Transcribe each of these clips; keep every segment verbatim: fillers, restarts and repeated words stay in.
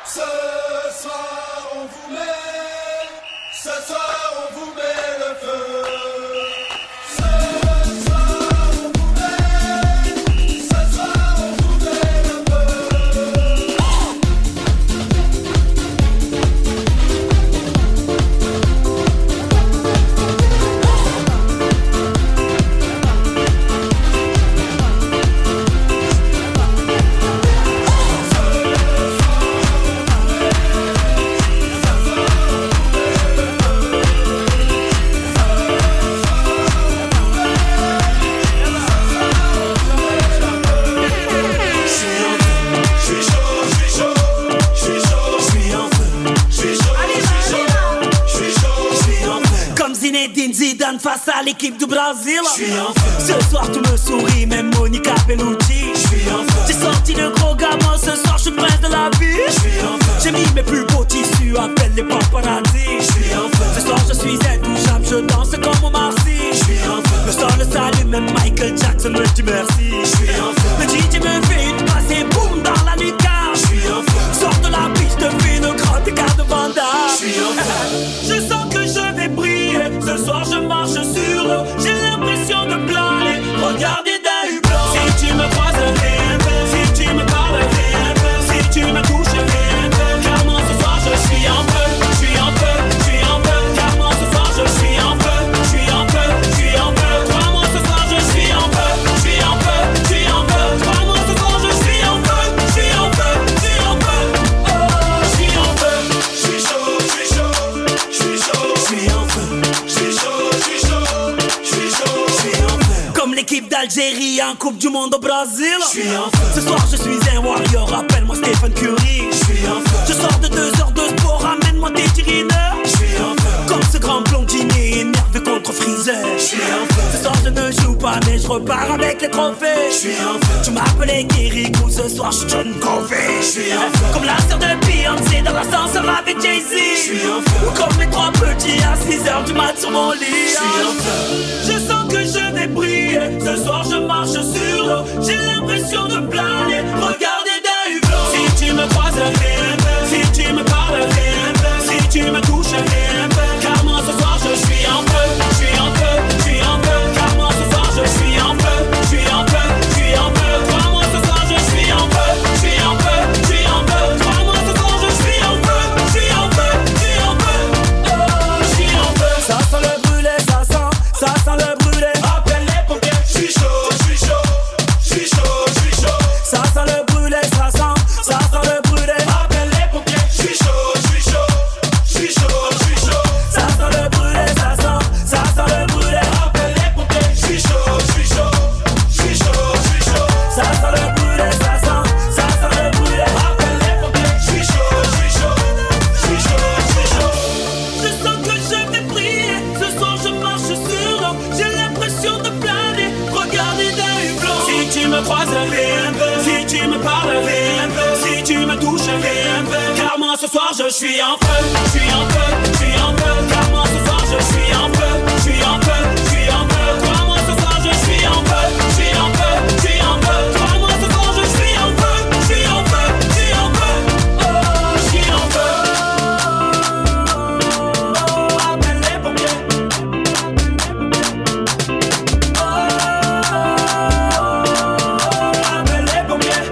Ce soir on vous met, ce soir on vous met le feu. Zidane face à l'équipe du Brésil. Ce soir tout me sourit, même Monica Bellucci. J'ai sorti le gros gamin, ce soir je suis prince de la vie. J'ai mis mes plus beaux tissus, appelle les paparazzi. Ce soir je suis intouchable, je danse comme Omar Sy. Le son le salue, même Michael Jackson me dit merci. Le D J me fait une passe et boum dans la lucarne. Sors de la piste, te fais le grand écart de Vanda. Je sens que je vais briller. Ce soir je marche sur l'eau, j'ai l'impression de planer. Regardez d'un hublot. Si tu me croises, rien ne fait. Si tu me parles, rien ne fait. Si tu me touches, rien ne fait. Car moi ce soir je suis en feu, je suis en feu, je suis en feu. Car moi ce soir je suis en feu, je suis en feu, je suis en feu. Crois-moi ce soir je suis en feu, je suis en feu, je suis en feu. Crois-moi ce soir je suis en feu, je suis en feu, je suis en feu. Oh, je suis en feu, je suis chaud, je suis chaud, je suis chaud, je suis en feu. Comme l'équipe d'Algérie en Coupe du Monde au Brésil. Ce soir je suis un warrior, appelle-moi Stephen Curry. Je sors de deux heures de sport, ramène-moi tes tirineurs. Comme ce grand blondinier énervé contre Freezer. Ce soir je ne joue pas mais je repars avec les trophées. Tu m'appelais Kirikou, ce soir je suis John Covey. Comme la sœur de Beyoncé dans l'ascenseur avec Jay-Z. Ou comme les trois petits à six heures du mat sur mon lit. Je sens que je vais briller. Ce soir je marche sur l'eau, j'ai l'impression de planer. Regardez d'un hublot. Si tu me croises, rien ne fait. Si tu me parles, rien ne fait. Si tu me touches, rien ne fait. Car moi ce soir je suis en feu, je suis en feu, je suis en feu. Car moi ce soir je suis en feu, je suis en feu, je suis en feu. Crois-moi ce soir je suis en feu, je suis en feu, je suis en feu. Crois-moi ce soir je suis en feu, je suis en feu, je suis en feu. Oh, je suis en feu. Ça sent le brûlé, ça sent, ça sent le brûlé. Appelle les pompiers. Je suis chaud, je suis chaud, je suis chaud, je suis chaud. Ça sent le brûlé, ça sent, ça sent le brûlé. Appelle les pompiers. Je suis chaud, je suis chaud, je suis chaud, je suis chaud. Ça sent le brûlé, ça sent, ça sent le brûlé. Appelle les pompiers. Je suis chaud, je suis chaud, je suis chaud, je suis chaud. Ça sent le brûlé, ça sent, ça sent le brûlé. Appelle les pompiers. Je suis chaud, je suis chaud, je suis chaud, je suis chaud. Je sens que je vais briller. Ce soir je marche sur l'eau, j'ai l'impression de planer. Regardez d'un hublot. Si tu me croises, rien ne fait. Si tu me parles, rien ne fait. Si tu me touches, rien ne fait. Car moi ce soir je suis en feu, je suis en feu, je suis en feu. Car moi ce soir je suis en feu, je suis en feu, je suis en feu. Crois-moi ce soir je suis en feu, je suis en feu, je suis en feu. Crois-moi ce soir je suis en feu, je suis en feu, je suis en feu. Oh, je suis en feu. Oh, appelle les pompiers. Oh, appelle les pompiers.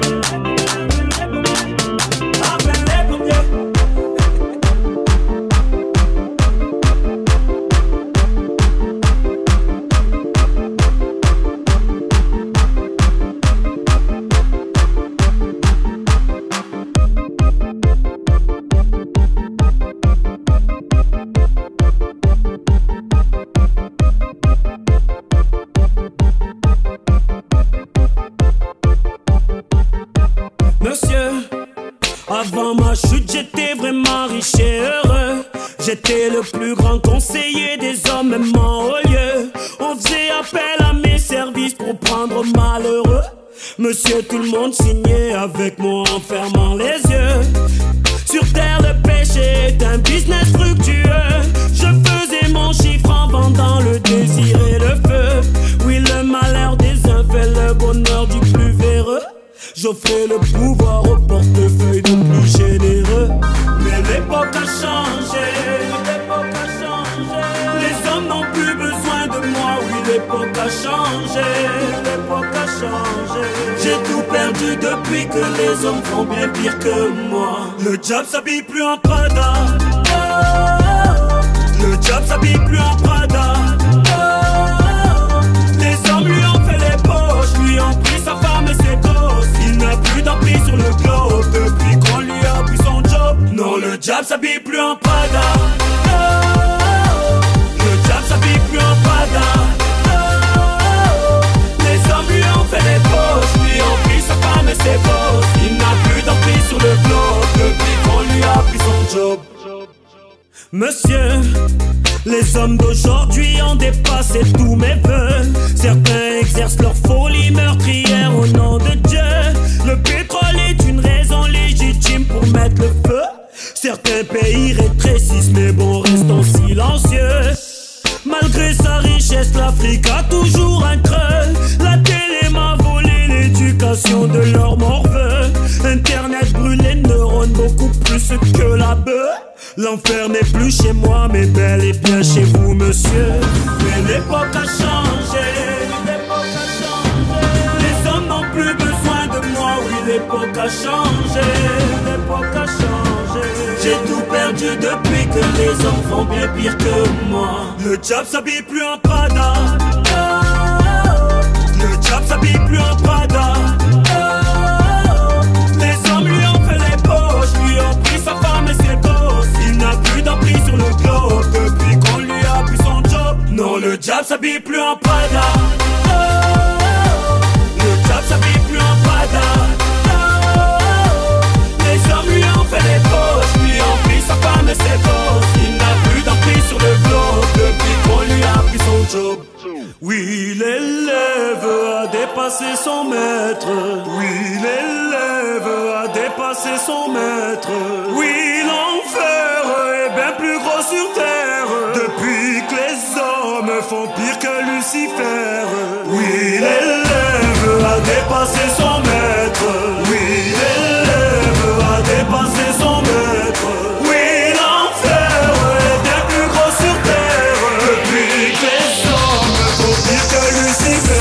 Appelle les pompiers. Monsieur, avant ma chute, j'étais vraiment riche et heureux. J'étais le plus grand conseiller des hommes, même en haut lieu. On faisait appel à mes services pour prendre malheureux. Monsieur, tout le monde signait avec moi en fermant les yeux. Sur terre, le péché est un business fructueux. Je faisais mon chiffre en vendant le désir et le feu. Oui, le malheur des uns fait le bonheur du plus véreux. J'offrais le pouvoir au portefeuille de plus généreux. perdu depuis que les hommes font bien pire que moi. Le diable s'habille plus en Prada. Oh, le diable s'habille plus en Prada. Oh, les hommes lui ont fait les poches, lui ont pris sa femme et ses gosses. Il n'a plus d'emprise sur le globe depuis qu'on lui a pris son job. Non, le diable s'habille plus en Prada. Oh, le diable s'habille plus en Prada. Oh, les hommes lui ont fait les poches, lui ont pris sa femme et ses gosses. Il n'a plus d'emprise sur le globe depuis qu'on lui a pris son job. Monsieur, les hommes d'aujourd'hui ont dépassé tous mes vœux. Certains exercent leur folie meurtrière au nom de Dieu. Le pétrole est une raison légitime pour mettre le feu. Certains pays rétrécissent, mais bon, restons silencieux. Malgré sa richesse, l'Afrique a toujours un creux. La télé m'a volé l'éducation de leur morveux. Internet brûle les neurones beaucoup plus que la bœuf. L'enfer n'est plus chez moi, mais bel et bien chez vous, monsieur. Mais l'époque a changé, l'époque a changé. Les hommes n'ont plus besoin de moi, oui, l'époque a changé, l'époque a changé. J'ai tout perdu depuis que les hommes font bien pire que moi. Le diable s'habille plus en Prada. Oh, le diable s'habille plus en Prada. Oh, les hommes lui ont fait les poches, lui ont pris sa femme et ses gosses. Il n'a plus d'emprise sur le globe depuis qu'on lui a pris son job. Non, le diable s'habille plus en Prada. Oh, le diable s'habille plus en Prada. Oh, les hommes lui ont fait les poches, lui ont pris sa femme et ses gosses. Il n'a plus d'emprise sur le globe depuis qu'on lui a pris son job. Oui, l'élève a dépassé son maître. Oui, l'élève a dépassé son maître. Oui, l'enfer est bien plus gros sur terre depuis que les hommes font pire que Lucifer. Oui, l'élève a dépassé son maître. Oui, l'élève a dépassé son maître. Oui, l'enfer est bien plus gros sur terre depuis que les hommes font pire que Lucifer.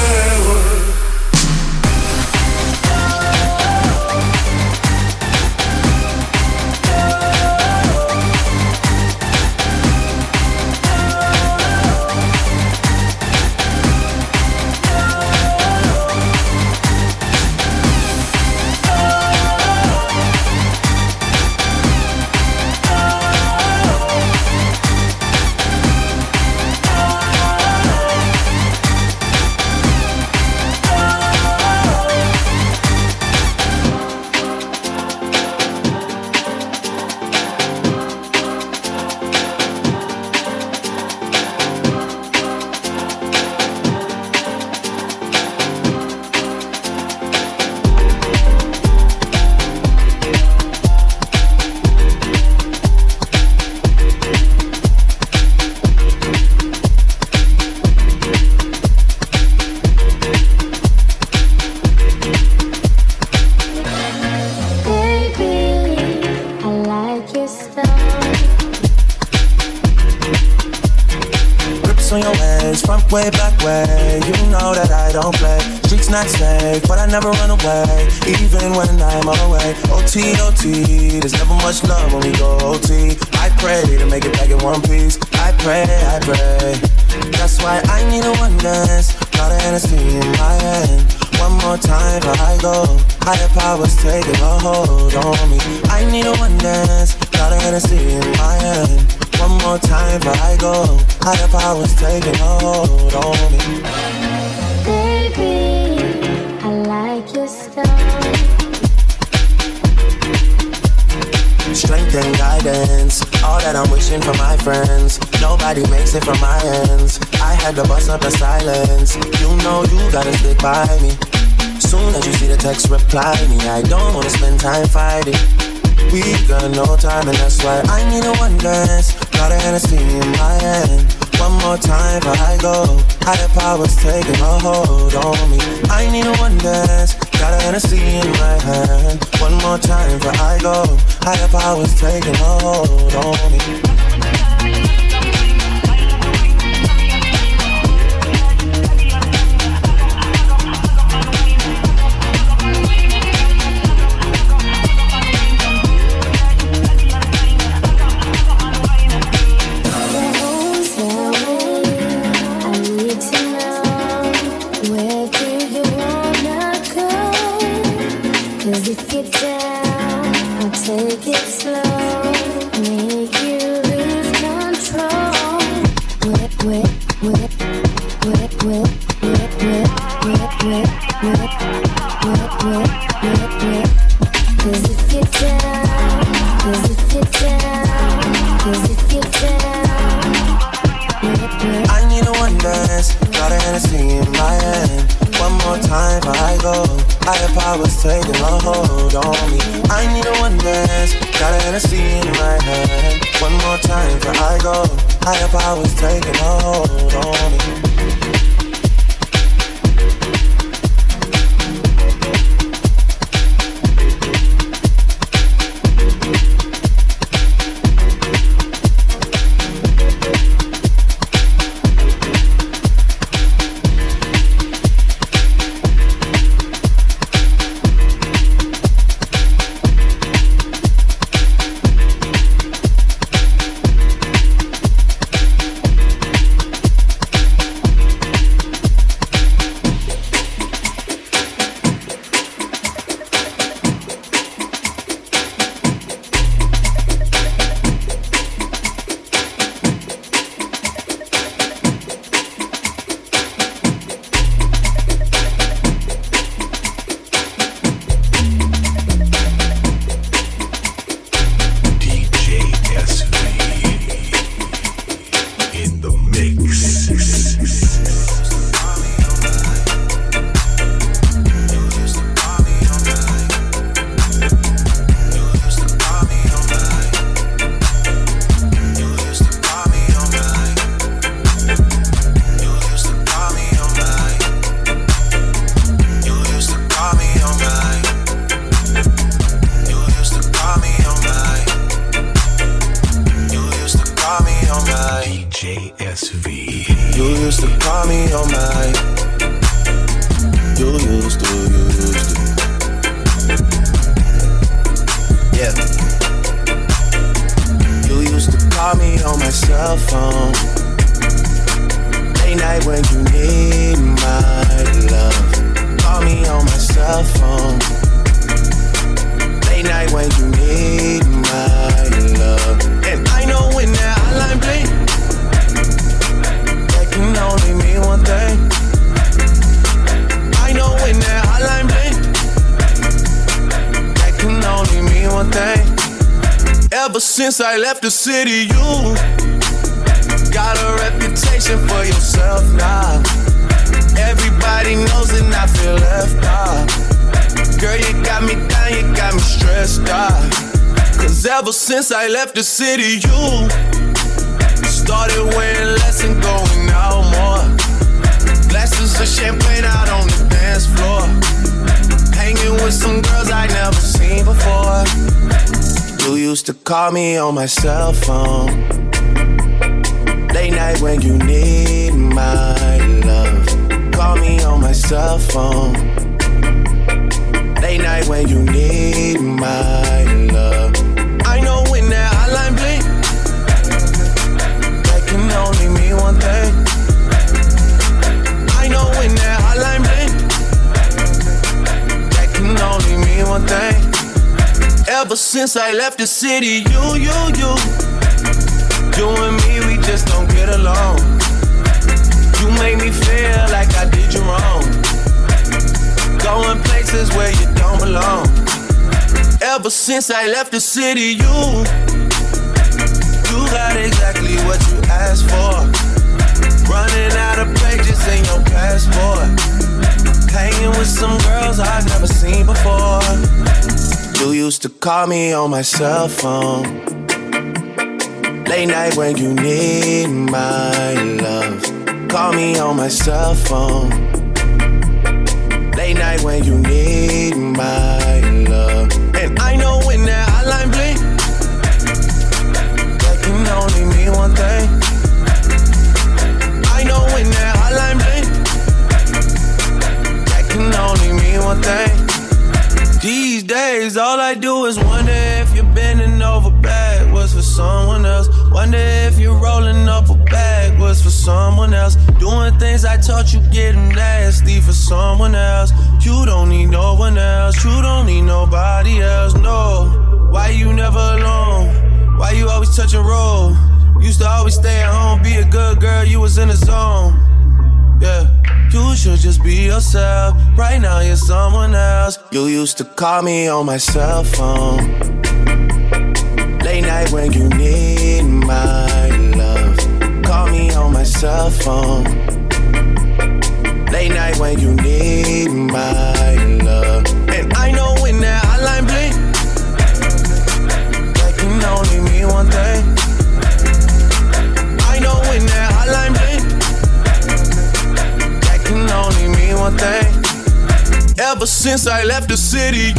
Way back way, you know that I don't play. Streets not safe, but I never run away, even when I'm away. O T, O T, there's never much love when we go O T. I pray to make it back in one piece. I pray, I pray. That's why I need a one dance. Got a Hennessy in my hand. One more time before I go. Higher powers taking a hold on me. I need a one dance. Got a Hennessy in my hand. One more time before I go. Higher powers taking a hold on me. Baby, I like your style. Strength and guidance, all that I'm wishing for my friends. Nobody makes it from my ends. I had to bust up the silence. You know you gotta stick by me. Soon as you see the text, reply me. I don't wanna spend time fighting. We got no time and that's why I need a one dance. Got a Hennessy in my hand. One more time before I go. Higher powers taking a hold on me. I need a one dance. Got a Hennessy in my hand. One more time before I go. Higher powers taking a hold on me. take it slow, make you lose control. Whip, whip, whip, whip, whip, whip, whip, whip, whip, whip, whip, whip, whip, whip. 'Cause if you're down, 'cause if you're down, 'cause if you're down, whip, whip. I need a one dance, got a Hennessy in my hand. One more time before I go. Higher powers taking a hold on me. I need a one dance, got a Hennessy in my hand. One more time before I go. Higher powers taking a hold on me. Since I left the city, you got a reputation for yourself now. Everybody knows and I feel left out. Girl, you got me down, you got me stressed out. Cause ever since I left the city, you started wearing less and going out more. Glasses of champagne out on the dance floor. Hanging with some girls I never seen before. You used to call me on my cell phone. Late night when you need my love. Call me on my cell phone. Late night when you need my love. I know when that hotline bling, that can only mean one thing. I know when that hotline bling, that can only mean one thing. Ever since I left the city, you, you, you, you and me, we just don't get along. You make me feel like I did you wrong. Going places where you don't belong. Ever since I left the city, you, you got exactly what you asked for. Running out of pages in your passport. Hanging with some girls I've never seen before. You used to call me on my cell phone. Late night when you need my love. Call me on my cell phone. Late night when you need my love. And I know when that hotline bling, that can only mean one thing. I know when that hotline bling, that can only mean one thing. These days, all I do is wonder if you're bending over backwards for someone else. Wonder if you're rolling up a backwards for someone else. Doing things I taught you getting nasty for someone else. You don't need no one else. You don't need nobody else, no. Why you always touch and roll. Used to always stay at home, be a good girl, you was in the zone. Yeah, you should just be yourself. Right now you're someone else. You used to call me on my cell phone. Late night when you need my love. Call me on my cell phone. Late night when you need my love. And I know when that hotline blink, that can only mean one thing. I know when that hotline blink, that can only mean one thing. Ever since I left the city,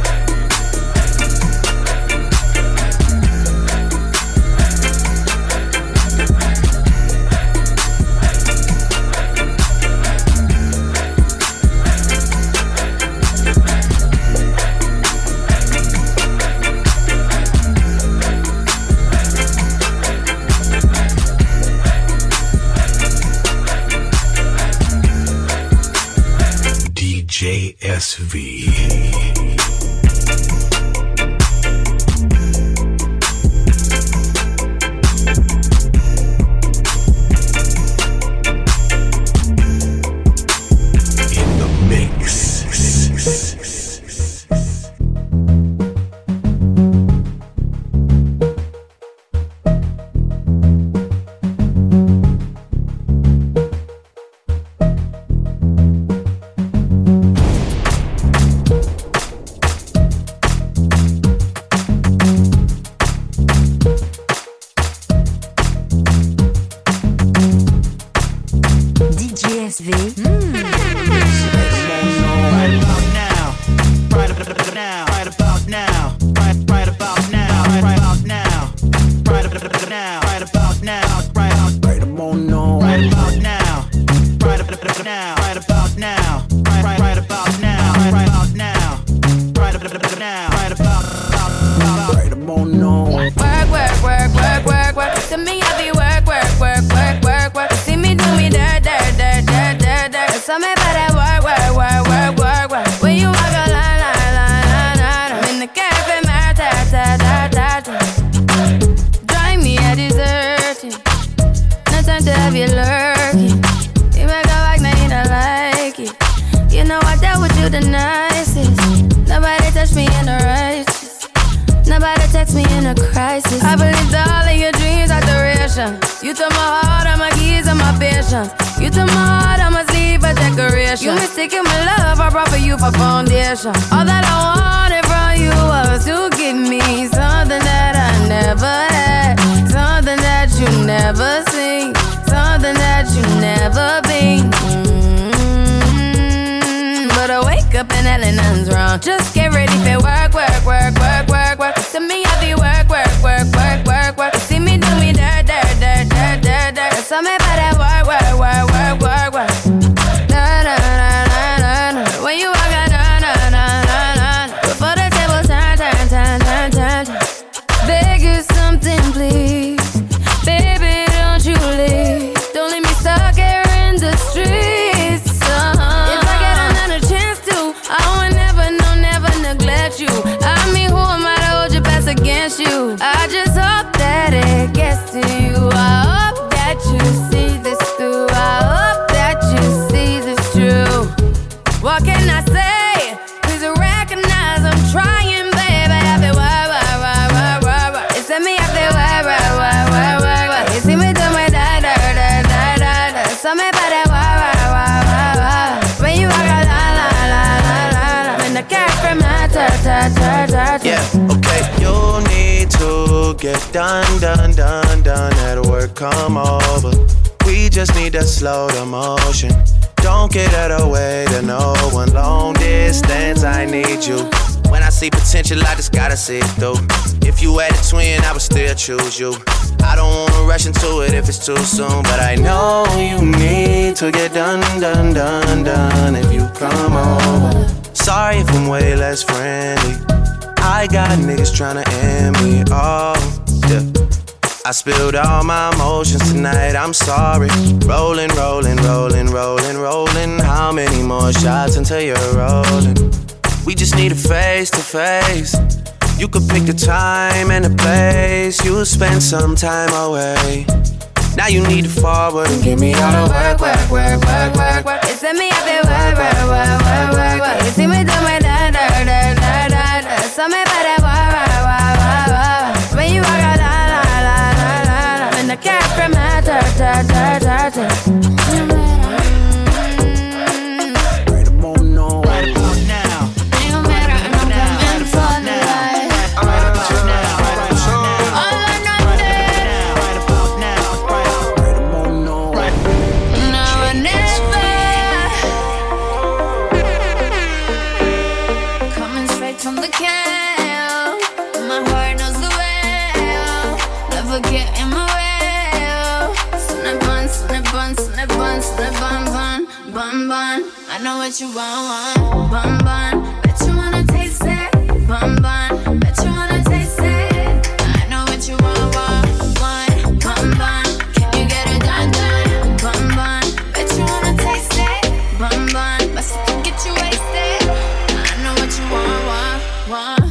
J S V. All that I wanted from you was to give me something that I never had, something that you never seen, something that you never been. Mm-hmm. But I wake up and hell nothing's wrong. Just get ready for work, work, work, work, work, work. To me, I be work, work, work, work, work, work. See me do me dirt, dirt, dirt, dirt, dirt, dirt. Tell me about that work, work, work, work, work, work. Da, da, da, da, da, da. When you walk out, da, da, da, da, da. Before the table turn, turn, turn, turn, turn, turn. Beg you something, please. Baby, don't you leave. Don't leave me stuck here in the streets. Uh-huh. If I get another chance to, I would never, no, never neglect you. I mean, who am I to hold your best against you? I just hope that it gets to you. I hope that you see this through. I hope that you see this true. What can I say? Please recognize I'm trying, baby. I feel why, why, why, why, why, why. It's me, I feel why, why, why, why, why, why. You see me do my da, da, da, da, da, da. Tell me about that why, why, why, why, why. When you walk out, la, la, la, la, la, la. When the cat from my ta, ta, ta, ta, ta. Yeah, okay. You need to get done, done, done, done. At work, come over. We just need to slow the motion. Don't get out of the way to no one. Long distance, I need you. When I see potential, I just gotta see it through. If you had a twin, I would still choose you. I don't wanna rush into it if it's too soon, but I know you need to get done, done, done, done. If you come over, sorry if I'm way less friendly. I got niggas tryna end me off. Yeah. I spilled all my emotions tonight, I'm sorry. Rolling, rolling, rolling, rolling, rolling. How many more shots until you're rolling? We just need a face to face. You could pick the time and the place. You'll spend some time away. Now you need to forward and give me all the work, work, work, work, work, work. You send me up there, work, work, work, work, work, work. You see me do my da da da da da da. So me better work, work, work, work, work. When you walk out, la la la la la la. And I can't from my da da da da da. Right about now, right about now. No matter, I'm coming for the light. Right about now, right about now. All or nothing. Right about now, right about now. Right. Now or never. Coming straight from the can. My heart knows the way. Never get in my way. Snap bun, snap bun, snap bun, snap bun, bun, bun, bun. I know what you want, want, bun, bun. Bet you wanna taste it, bun, bun. Bet you wanna taste it. I know what you want, want, want, bun, bun. Can you get it done, done, bun, bun. Bet you wanna taste it, bun, bun. But still get you wasted. I know what you want, want, want.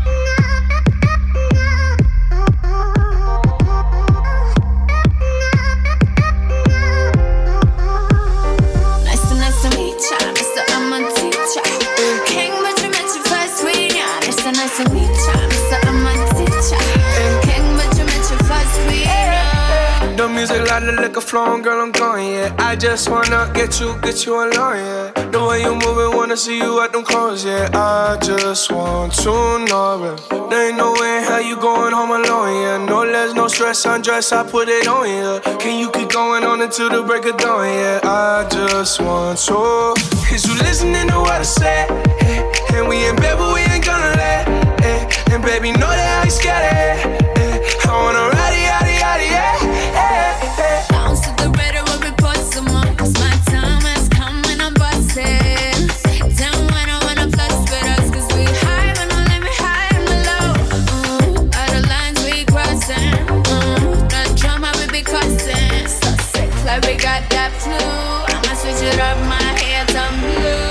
Nice to, nice to meet ya, Mister I'm a teacher. King, but you met your first queen, yeah. Nice to, nice to meet ya, Mister I'm a teacher. King, but you met your first queen, yeah. the music, lot of liquor flowing, girl, I'm going, yeah. I just wanna get you, get you alone, yeah. The way you moving, wanna see you at them clothes, yeah. I just want to know, yeah. There ain't no way in hell you going home alone, yeah. No less, no stress, undress, I put it on, yeah. Can you keep going on until the break of dawn, yeah. I just want to. Is you listening to what I say? Hey, and we in bed, but we ain't gonna let. Hey, and baby, know that I ain't scared of it. Hey, I wanna ride it, yada, yada, yeah. Hey, hey. Bounce to the rhythm when we put some on. 'Cause my time has come when I'm bustin'. Down when I wanna flex with us. 'Cause we high when I let me high and low. Ooh, all the lines we crossin'. Ooh, the drama we be cussing. So sick like we got that flu. I'ma switch it up, my hair turn blue.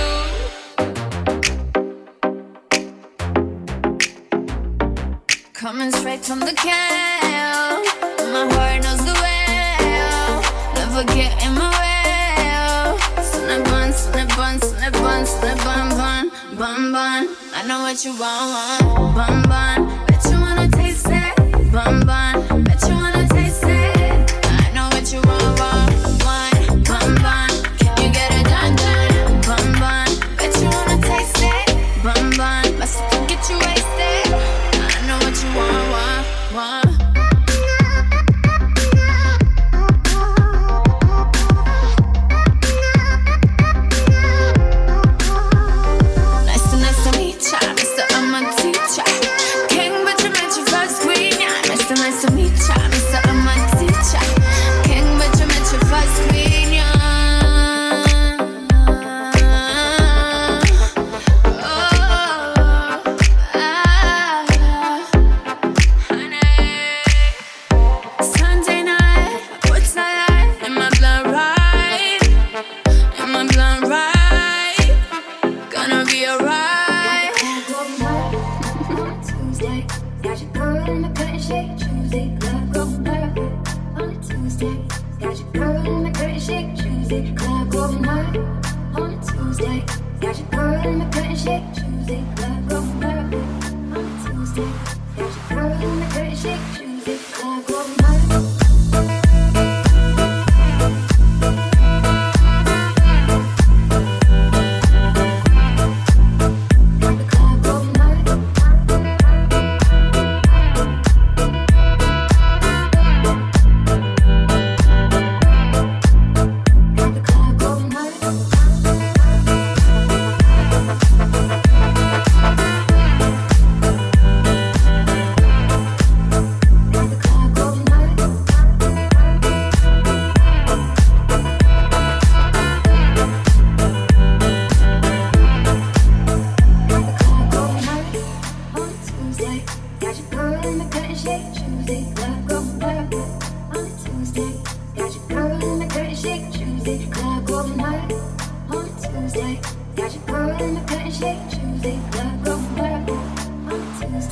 Coming straight from the can. My heart knows the way. Never get in my way. Snap bun, snap bun, snap bun, snap bun, bun, bun, bun. I know what you want, bun, bun. Bet you wanna taste it, bun, bun. Bet you wanna taste it. I know what you want, want, want, bun, bun. Can you get it done, done, bun, bun. Bet you wanna taste it, bun, bun. But still get you wasted. I know what you want, want, want. Nice to, nice to meet ya, Mister I'm a teacher. King, but you met your first queen, yeah. Nice to, nice to meet ya, Mister I'm a teacher. King, but you met your first queen, yeah. Oh, ah, honey. Sunday night, what's that light? In my blood, right? In my blood, right? Gonna be alright. Tuesday, got your girl in the curtain shake. Tuesday, club going perfect. On a Tuesday, got your girl in the curtain shake. Tuesday, club going hard. On a Tuesday, got your girl in the curtain shake. Tuesday, club going perfect. On a Tuesday, got your girl in the curtain shake. Tuesday, club going hard. Tuesday,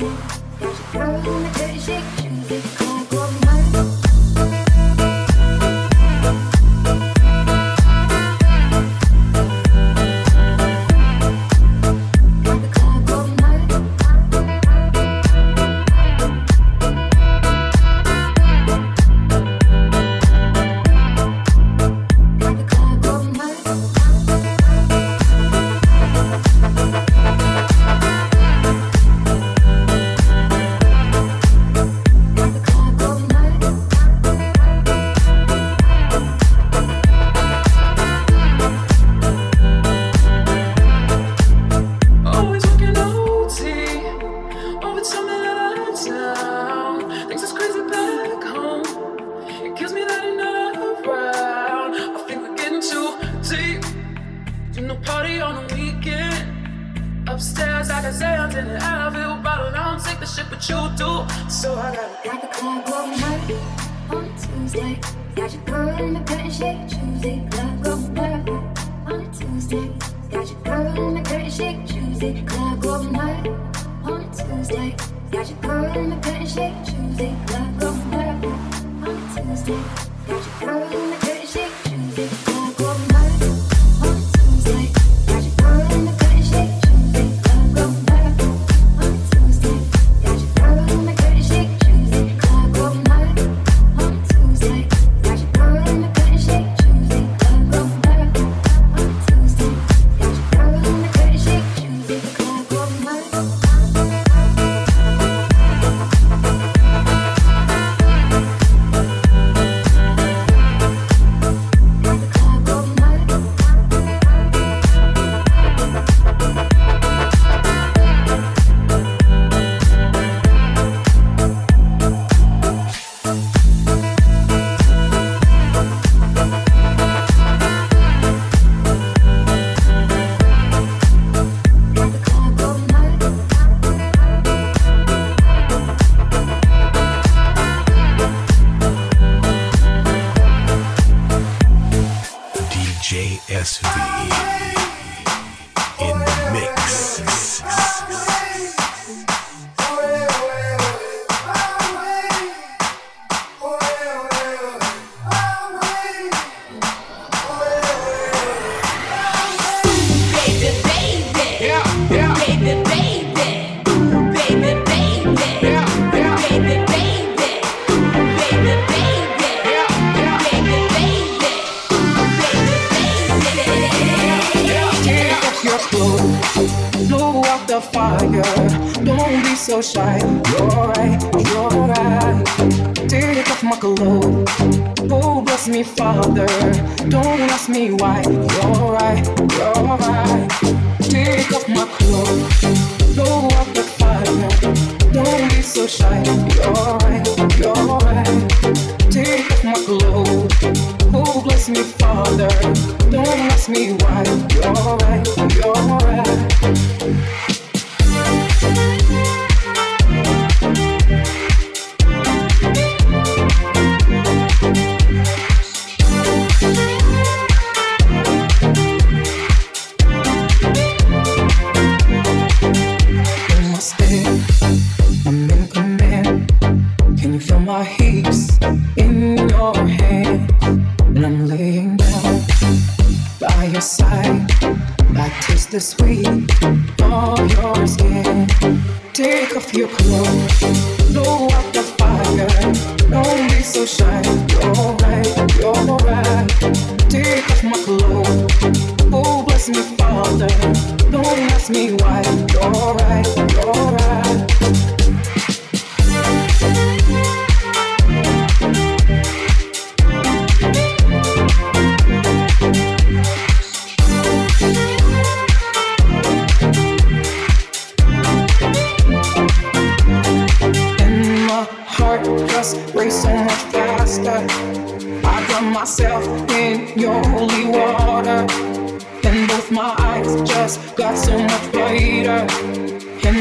And both my eyes just got so much brighter. And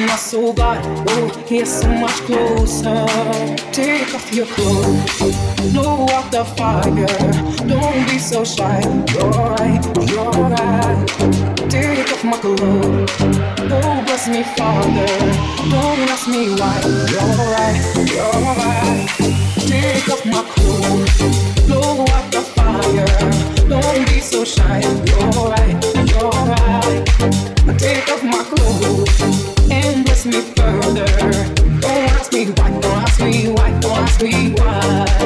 my soul got, oh, here's so much closer. Take off your clothes, blow out the fire. Don't be so shy, you're right, you're right. Take off my clothes, oh, bless me, Father. Don't ask me why, you're right, you're right. Take off my clothes, blow out the fire. Don't be so shy, you're right, you're right. Take off my clothes and bless me further. Don't ask me why, don't ask me why, don't ask me why.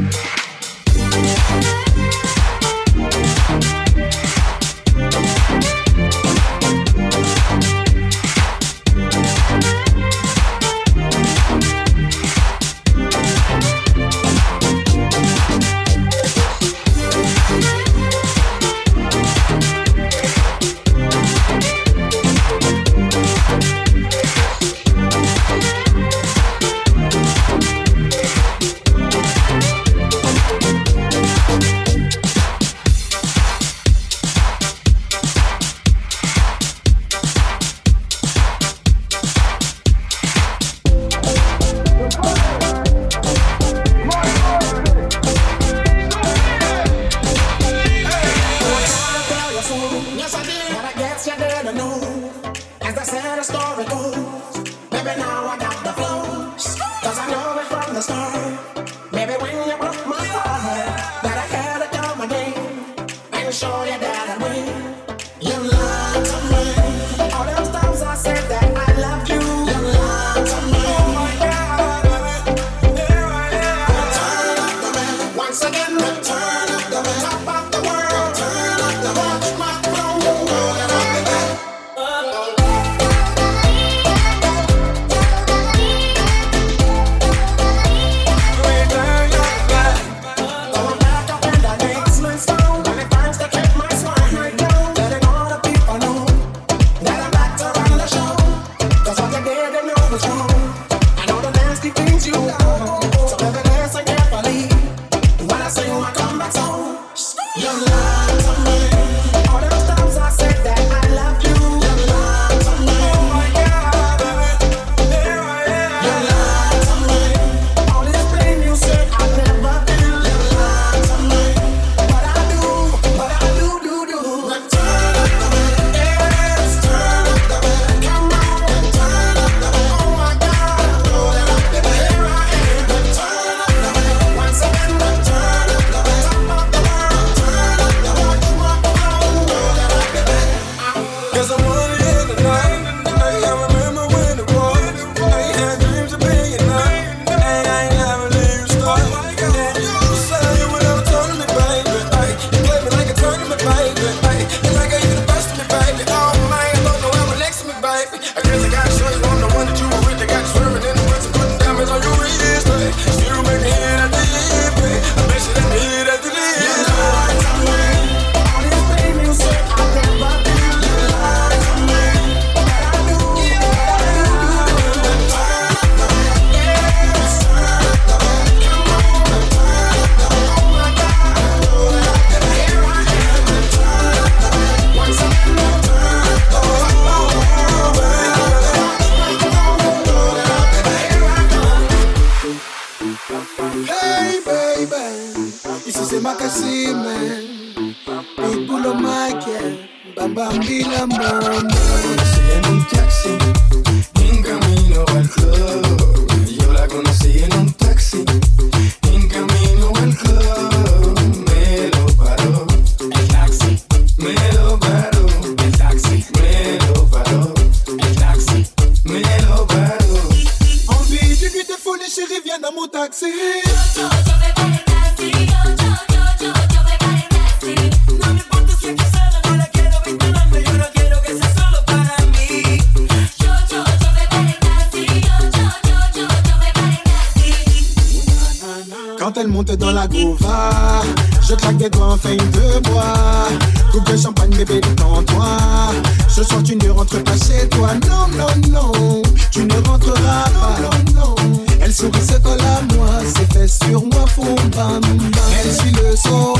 Elle suit le son,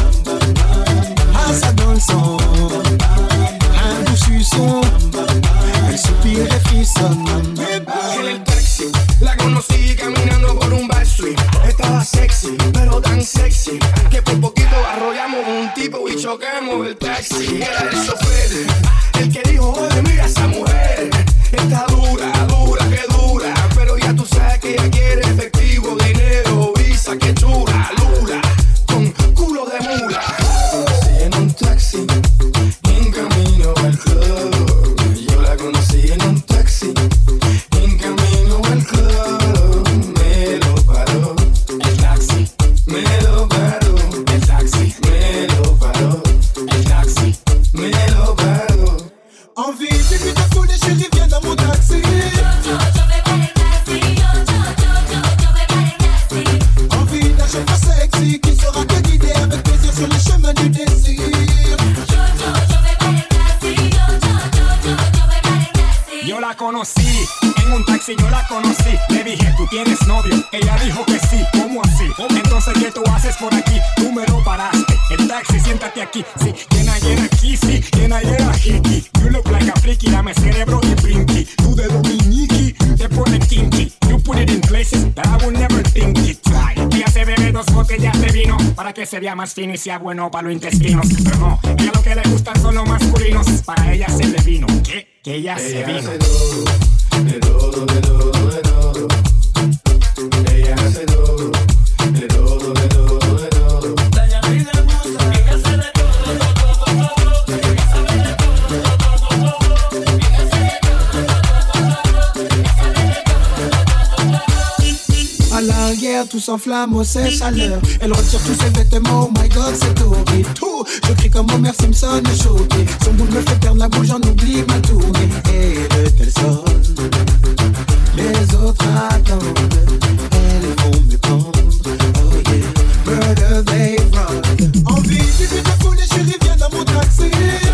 ah ça dans le sang, un doux suçon, elle soupire et frissonne. sexy, que por poquito arrollamos un tipo y chocamos el taxi. Era el chofer, el que dijo, oye, mira esa mujer, está dura, dura, que dura, pero ya tú sabes que ella quiere efectivo, dinero, visa, que chula, lula, con culo de mula. Conocí en un taxi, en camino al club. Yo la conocí en un taxi, en camino al club. Me lo paró el taxi, me lo paró el taxi, me lo paró el taxi, me lo paró. Envie de lui de folie, chérie, viens dans mon taxi. Envie d'un chauffeur sexy qui saura te guider avec plaisir sur le chemin du désir. Yo la conocí, en un taxi yo la conocí. Le dije, ¿tú tienes novio? Ella dijo que sí, ¿cómo así? Entonces, ¿qué tú haces por aquí? Tú me lo paraste, el taxi, siéntate aquí. Sí, can I get a kissy? Can I get a hickey? You look like a freaky, dame cerebro y brinky. Tú de dominiki, te pone kinky. You put it in places that I would never think it. Try. Ella se bebe dos botellas de vino para que se vea más fino y sea bueno para los intestinos. Pero no, ella lo que le gustan son los masculinos. Para ella se le vino. ¿Qué? Que ella, ella se vino. Hace todo, de todo, de todo, de todo. Ella hace todo, de todo, de todo, de todo. Ella pide mucho, ella hace de todo, todo, todo, todo. Ella sabe de todo, todo, todo, todo. Ella hace de todo, todo, todo, todo. Ella sabe de todo, todo, todo. À l'arrière, tout s'enflamme au sèche à l'heure. Elle retire tous ses vêtements, oh my god, c'est horrible. Tout, je crie comme Homer Simpson, choqué. Son boule me fait perdre la boule, j'en oublie ma tournée. Et de quel sol les autres attendent. Elles vont me prendre, oh yeah. Murder they run. Envie du but de folie, chérie, viens dans mon taxi.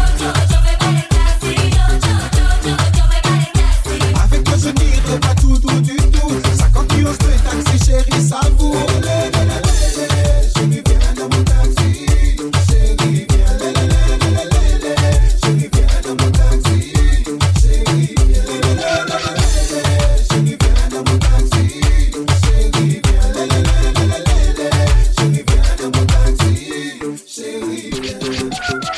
Avec toi je n'irai pas tout, tout du tout. cinquante kilos de taxi, chérie, ça vaut. Chérie, viens dans mon taxi. Chérie, viens, chérie, viens dans mon taxi. Chérie, viens, chérie, viens dans mon taxi. Chérie, viens, chérie, viens dans mon taxi. Chérie, viens.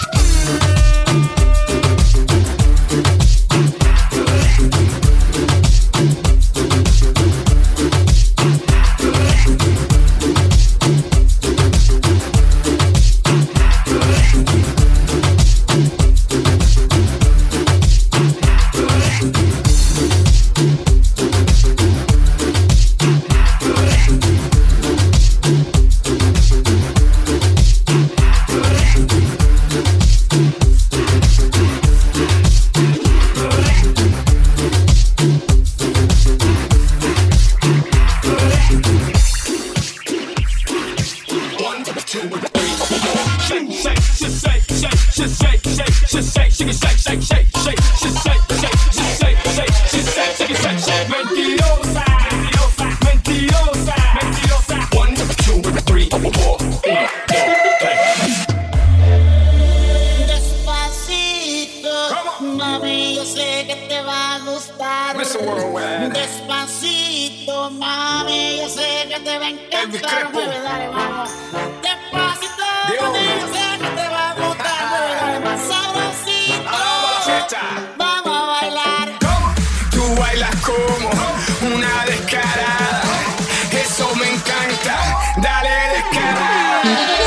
Despacito, mami, yo sé que te va a encantar. Mueve, dale, vamos. Despacito, mami, yo sé que te va a gustar. Mueve, dale, más sabrosito. Vamos a bailar. Tú bailas como una descarada. Eso me encanta. Dale descarada.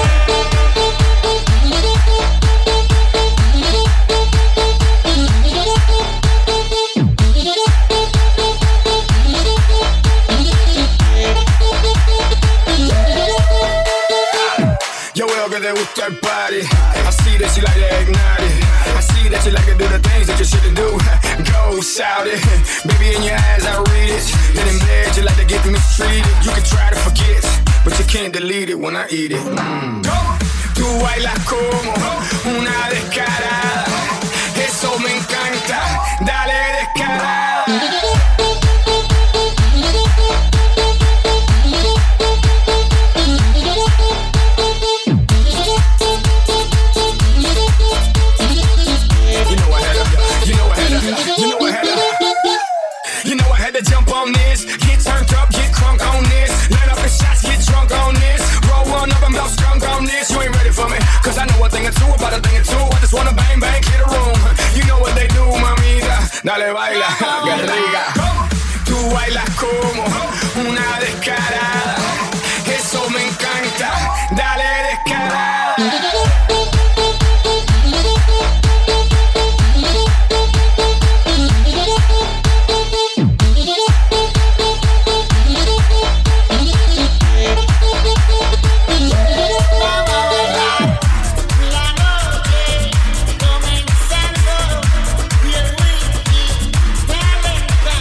Que te gusta el party. I see that you like to ignite it. I see that you like to do the things that you shouldn't do. Go shout it. Baby, in your eyes I read it. Then in bed you like to get mistreated. You can try to forget, but you can't delete it when I eat it. Mm. Tú bailas como una descarada. Eso me encanta. Dale descarada. Jump on this, get turned up, get crunk on this. Let up the shots, get drunk on this. Roll one up baila, qué rica. Tú bailas como una descarada. Eso me encanta, dale descarada. Comenzando y el whisky calentando.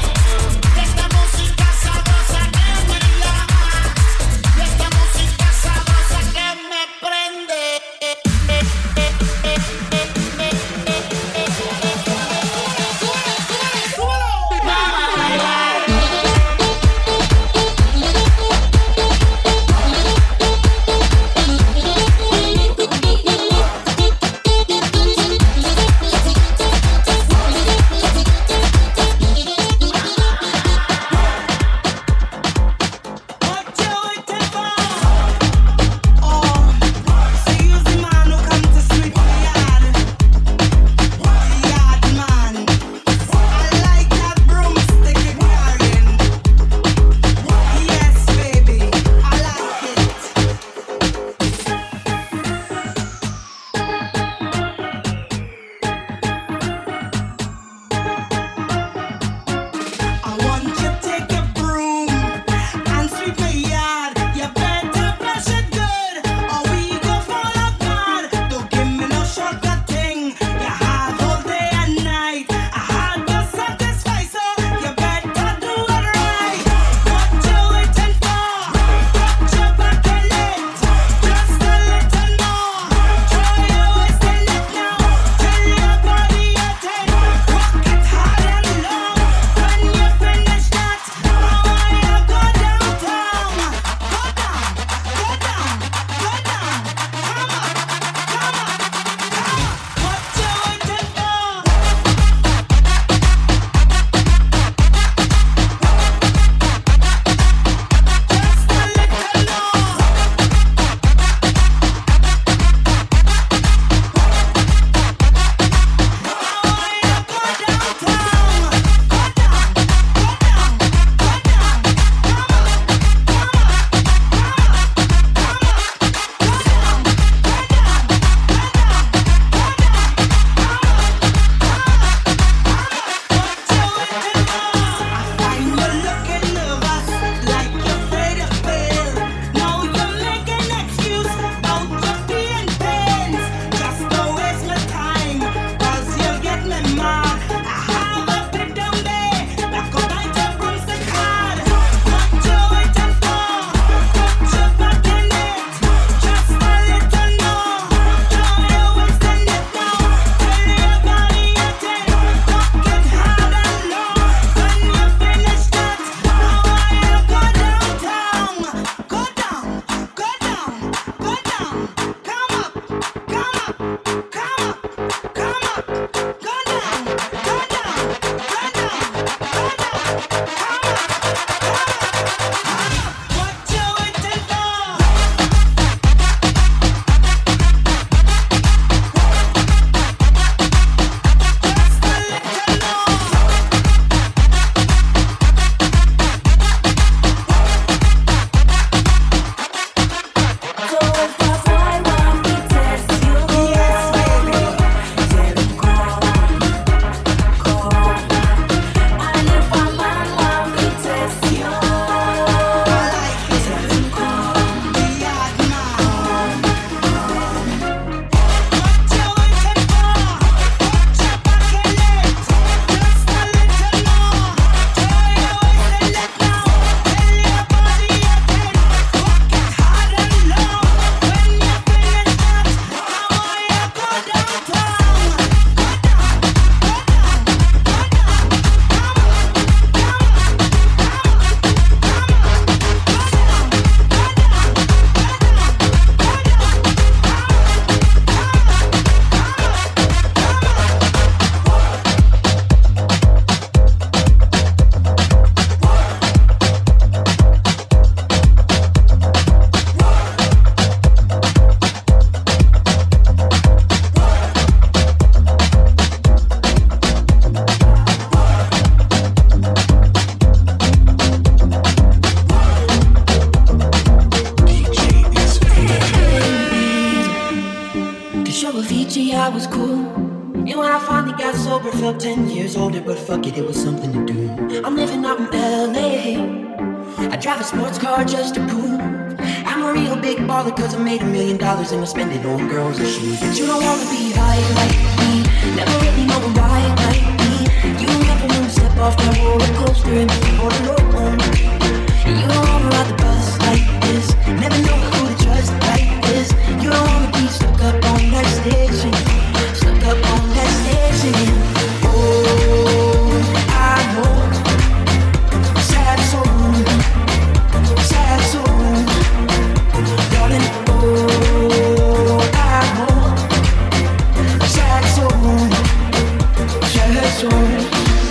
I was cool. And when I finally got sober, felt ten years older, but fuck it, it was something to do. I'm living out in L A. I drive a sports car just to prove I'm a real big baller, cause I made a million dollars and I spend it on girls and shoes. But you don't wanna be high like me, never really know why like me. You never wanna step off that roller coaster and be all alone. And you don't wanna ride the bus like this, never know who to trust like this. You don't wanna be stuck up on that station, stuck up on that station. Oh, I know, sad soul, sad soul, darling. Oh, I know, sad soul, sad soul.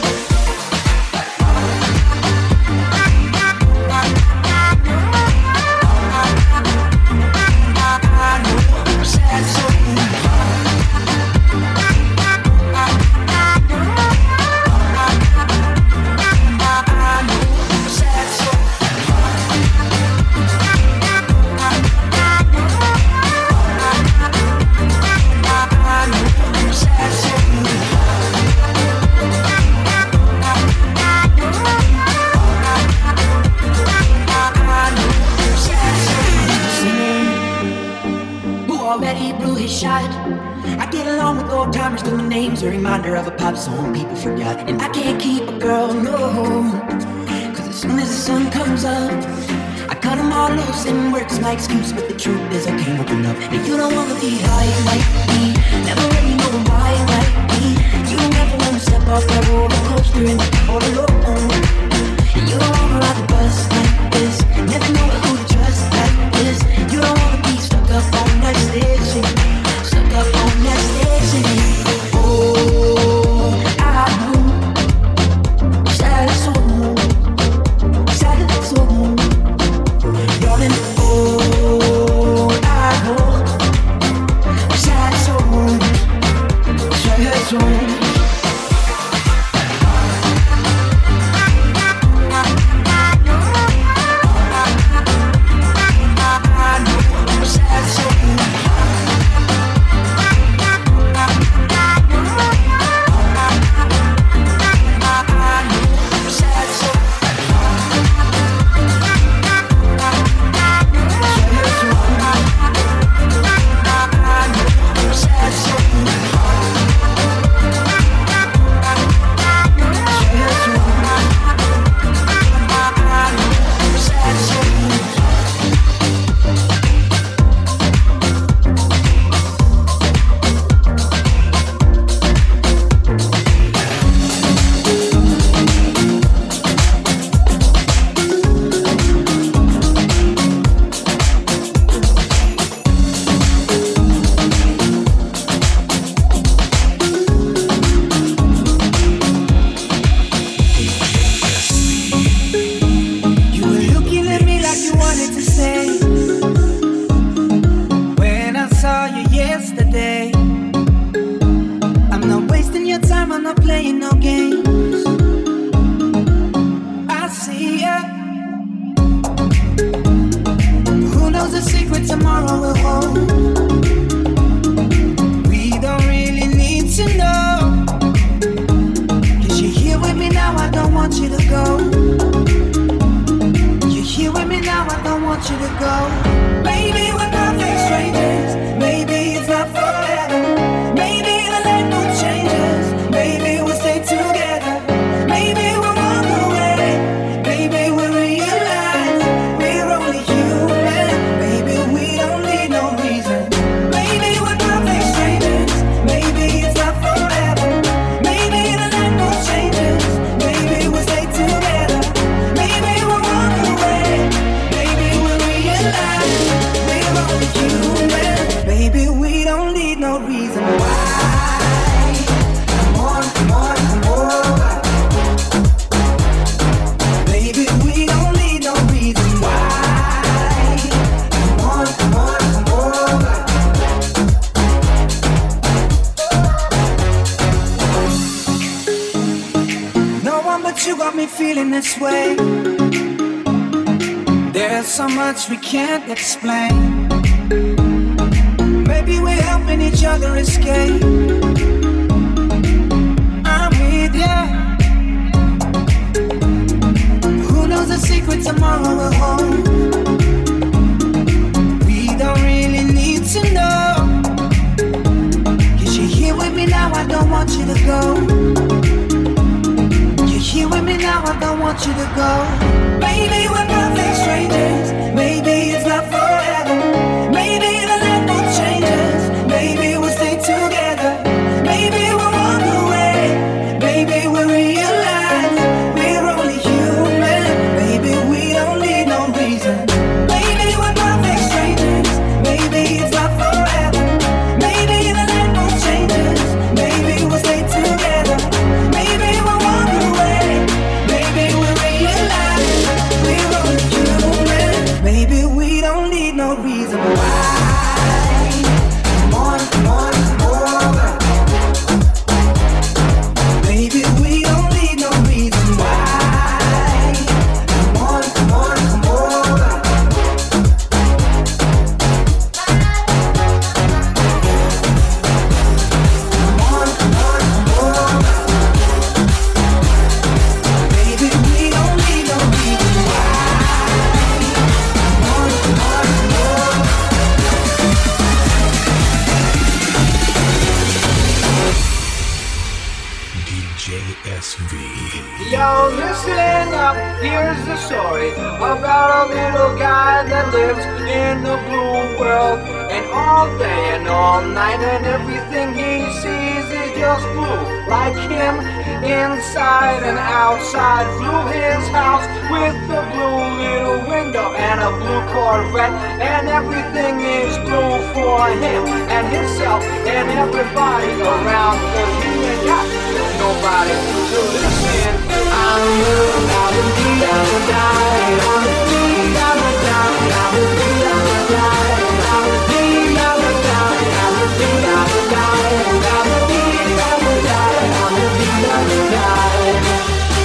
A reminder of a pop song people forgot. And I can't keep a girl, no, cause as soon as the sun comes up, I cut them all loose and work's my excuse. But the truth is I can't open up. And you don't wanna be high like me, never really know why like me. You never wanna step off that roller coaster and be all alone. And you don't wanna ride the bus like this, never know who to trust like this. You don't wanna be stuck up on that station, stuck up on that station. Oh, I know, sad soul, sad soul, darling. Oh, I know, sad soul, sad soul. There's so much we can't explain. Maybe we're helping each other escape. I'm with ya. Who knows the secret tomorrow will hold? We don't really need to know. Cause you're here with me now, I don't want you to go. You're here with me now, I don't want you to go. Maybe we're perfect strangers. Maybe it's not forever. Maybe the land will change us. Maybe we'll stay together. Maybe we'll walk away. Maybe we'll realize we're only human. Maybe we don't need no reason. Maybe we're perfect strangers. Maybe it's not forever. Maybe the land will change us. Maybe we'll stay together. Maybe we'll walk away. Maybe we'll realize we're only human. Maybe we don't need no reason why. More, more, more. Maybe we don't need no reason why. More, more, more. More, more, more. Maybe we don't need no reason why. More, more, more. D J S V. Yo, listen up, here's the story about a little guy that lives in a blue world. And all day and all night and everything he sees is just blue. Like him, inside and outside. Blue his house with a blue little window and a blue Corvette. And everything is blue for him and himself and everybody around. Cause he ain't got nobody to listen. I'm blue, I'm a D, I'm a die. I'm a D, I'm a die. I'm a D, I'm a die. I'm a D, I'm a die. I'm a D, I'm a die. I'm a D, I'm a die. I'm a D, I'm a die.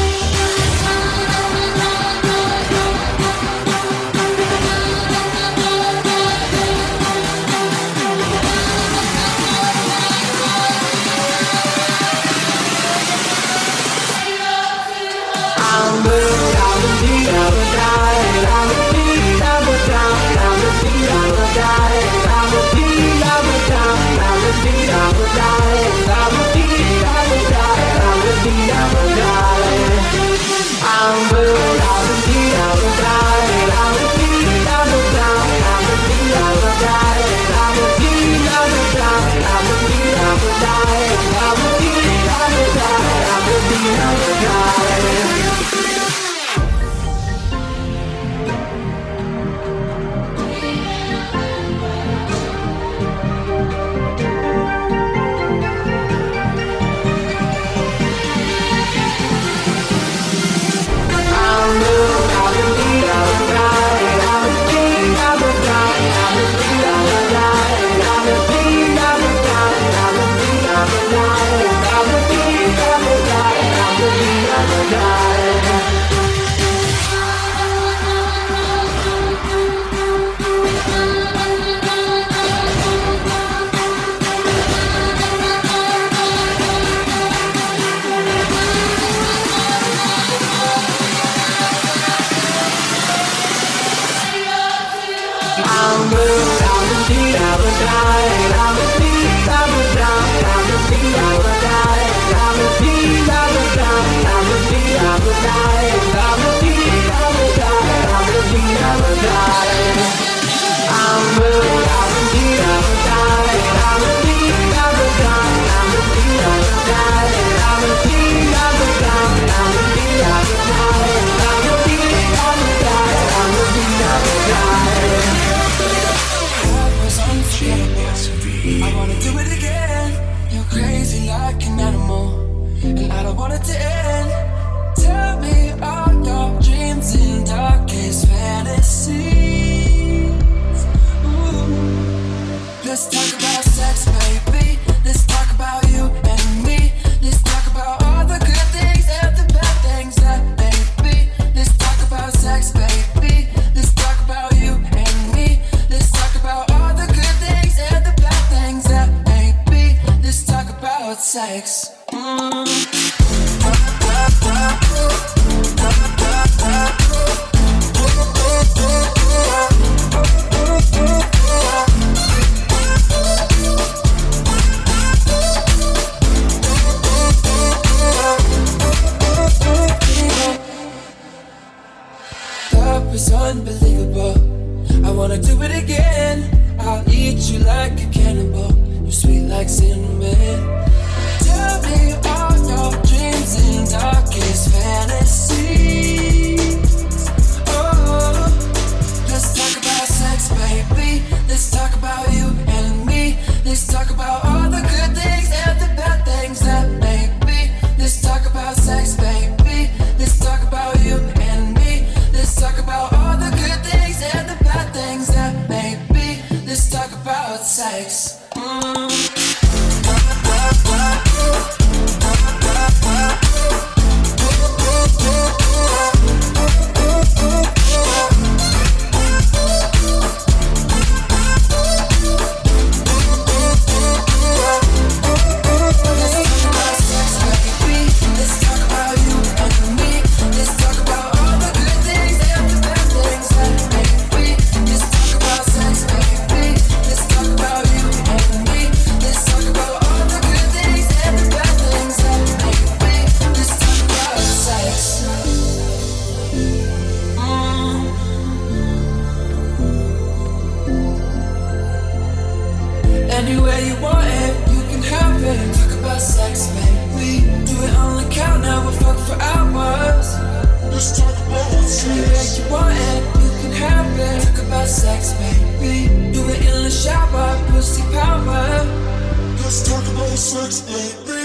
I'm blue, I'm a D, I'm a die. I'm a D, I'm a die. I'm a D, I'm a die. I'm a D, I'm a die. I'm a D, I'm a die. I'm a D, I'm a die. I'm a D, I'm a die. I'm blue, I'm a D, I'm a die. I'm a D, I'm a die. I'm a D, I'm a die. I'm a D, I'm a die. I'm a D, I'm a die. I'm a D, I'm a die. I'm a D, I'm a die. J S V. sex. Mm. Love is unbelievable. I wanna do it again. I'll eat you like a cannibal. You're sweet like cinnamon. Tell me all your dreams and darkest fantasies. Oh, let's talk about sex, baby. Let's talk about you and me. Let's talk about all the good things and the bad things that make me. Let's talk about sex, baby. Let's talk about you and me. Let's talk about all the good things and the bad things that make me. Let's talk about sex. Mm. Anywhere you want it, you can have it. Talk about sex, baby. Do it on the count, now we'll fuck for hours. Let's talk about sex. Anywhere you want it, you can have it. Talk about sex, baby. Do it in the shower, pussy power. Let's talk about sex, baby.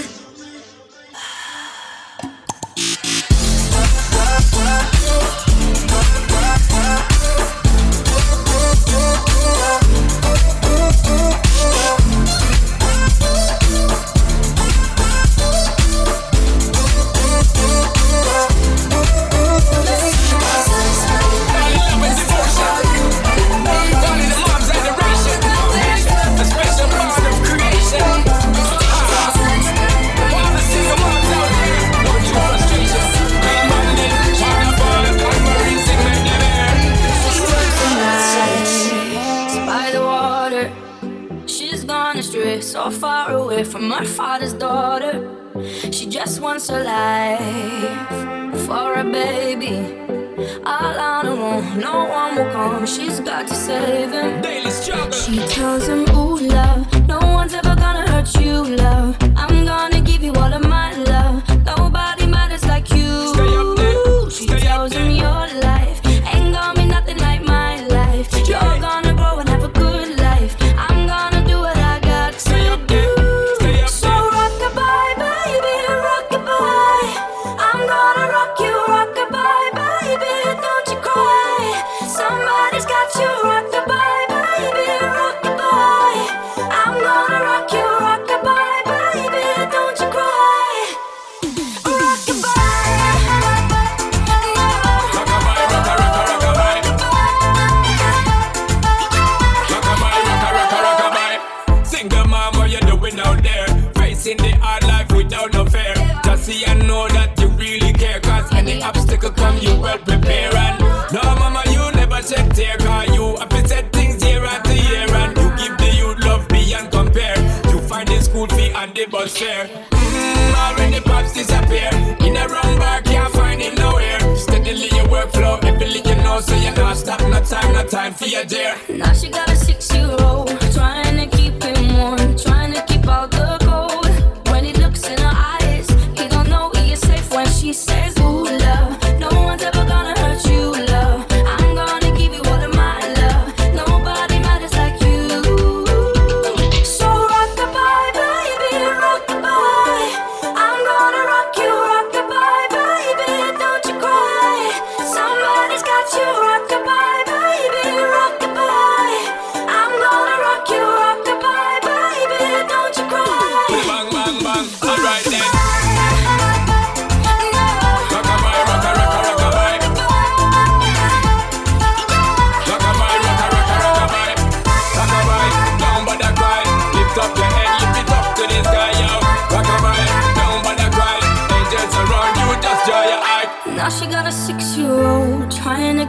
So far away from her father's daughter. She just wants a life for a baby. All on her own, no one will come. She's got to save him. Daily struggle. She tells him, ooh, love, no one's ever gonna hurt you, love. I'm gonna give you all of my love. Nobody matters like you. Stay up there. She Stay tells him your life ain't gonna be nothing like my life. You're gonna grow and have a good life. I'm gonna do what I got to do. So rock-a-bye, baby, rock-a-bye. I'm gonna rock you, rock-a-bye, baby, don't you cry. Somebody's got you, rock-a-bye, baby, rock-a-bye. I'm gonna rock you, rock-a-bye, baby, don't you cry. In the hard life without no fear, just see and know that you really care. Cause any obstacle come, you well prepare. And no, mama, you never check tear. Cause you have to set things year after year. And you give the youth love beyond compare. You find the school fee and the bus fare. Mmm, already pops disappear. In a wrong bar, can't find it nowhere. Steadily your workflow, everything you know. So you not stop, no time, no time for your dear. Now she got a six-year-old, trying to keep him warm, trying to keep out the cold. In her eyes, he don't know he is safe when she says, ooh, love, no one's ever gonna hurt you, love. I'm gonna give you all of my love. Nobody matters like you. So rock-a-bye, baby, rock-a-bye. I'm gonna rock you, rock-a-bye, baby, don't you cry. Somebody's got you, rock-a-bye, baby, rock-a-bye.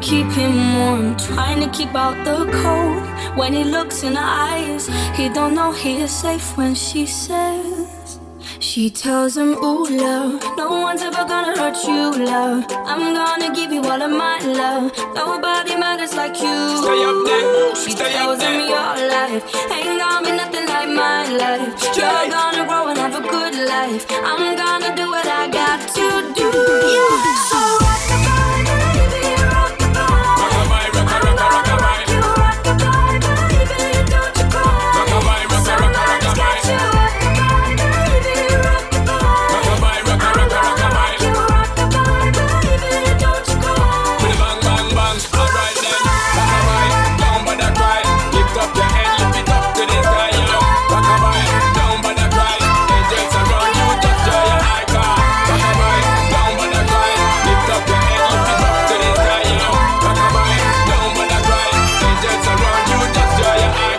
keep him warm, trying to keep out the cold. When he looks in her eyes, he don't know he is safe when she says, she tells him, ooh, love, no one's ever gonna hurt you, love. I'm gonna give you all of my love. Nobody matters like you. Stay up there. She Stay tells up there. him your life ain't gonna be nothing like my life. You're gonna grow and have a good life. I'm gonna do what I got to do. Yeah. So rock the body, baby, rock the body. Rockabye, rocka, rocka, rockabye. You rock the body, baby, don't you cry. Rockabye, rocka, rocka, rockabye. You rock the body, baby, rock the body. Rockabye, rocka, rocka, rockabye. You rock the body, baby, don't you cry. With a bang, bang, bang. All right then. Rockabye, down by the cry. Lift up your head, lift it up to the sky, yo. Rockabye, down by the cry. Angels around you, just joy your eye car. Rockabye, down by the cry. Lift up your head, lift it up to the sky, yo. Rockabye, down by the cry. Angels around you, just joy your eye.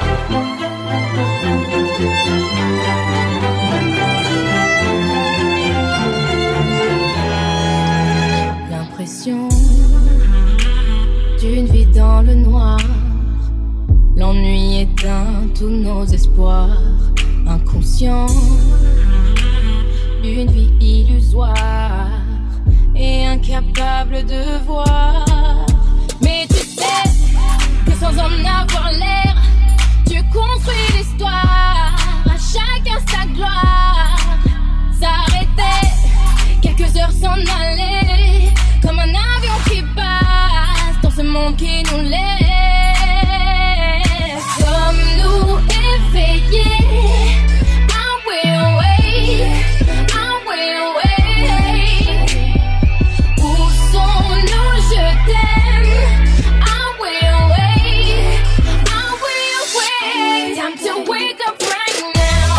L'impression d'une vie dans le noir. L'ennui éteint tous nos espoirs. Inconscient d'une vie illusoire et incapable de voir. Mais tu sais que sans en avoir l'air, tu construis l'histoire. À chacun sa gloire. S'arrêter, quelques heures s'en aller, comme un avion qui passe dans ce monde qui nous laisse. Sommes-nous éveillés? I will wait, I will wait. Où sont-nous? Je t'aime. I will wait, I will wait. Time to wake up right now.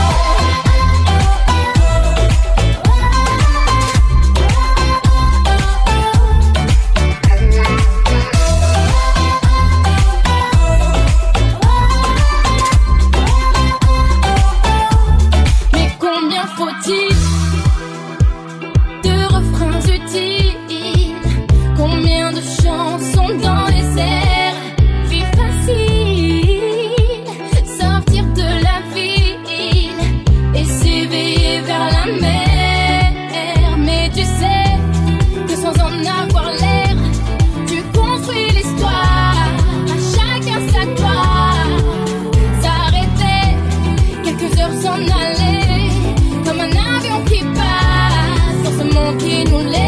Mais combien faut-il de refrains utiles? Combien de chansons dans les airs? Vie facile, sortir de la ville et s'éveiller vers la mer. Mais tu sais que sans en avoir l'air, tu construis l'histoire. À chacun sa gloire. S'arrêter, quelques heures s'en aller, comme un avion qui passe dans ce monde qui nous laisse.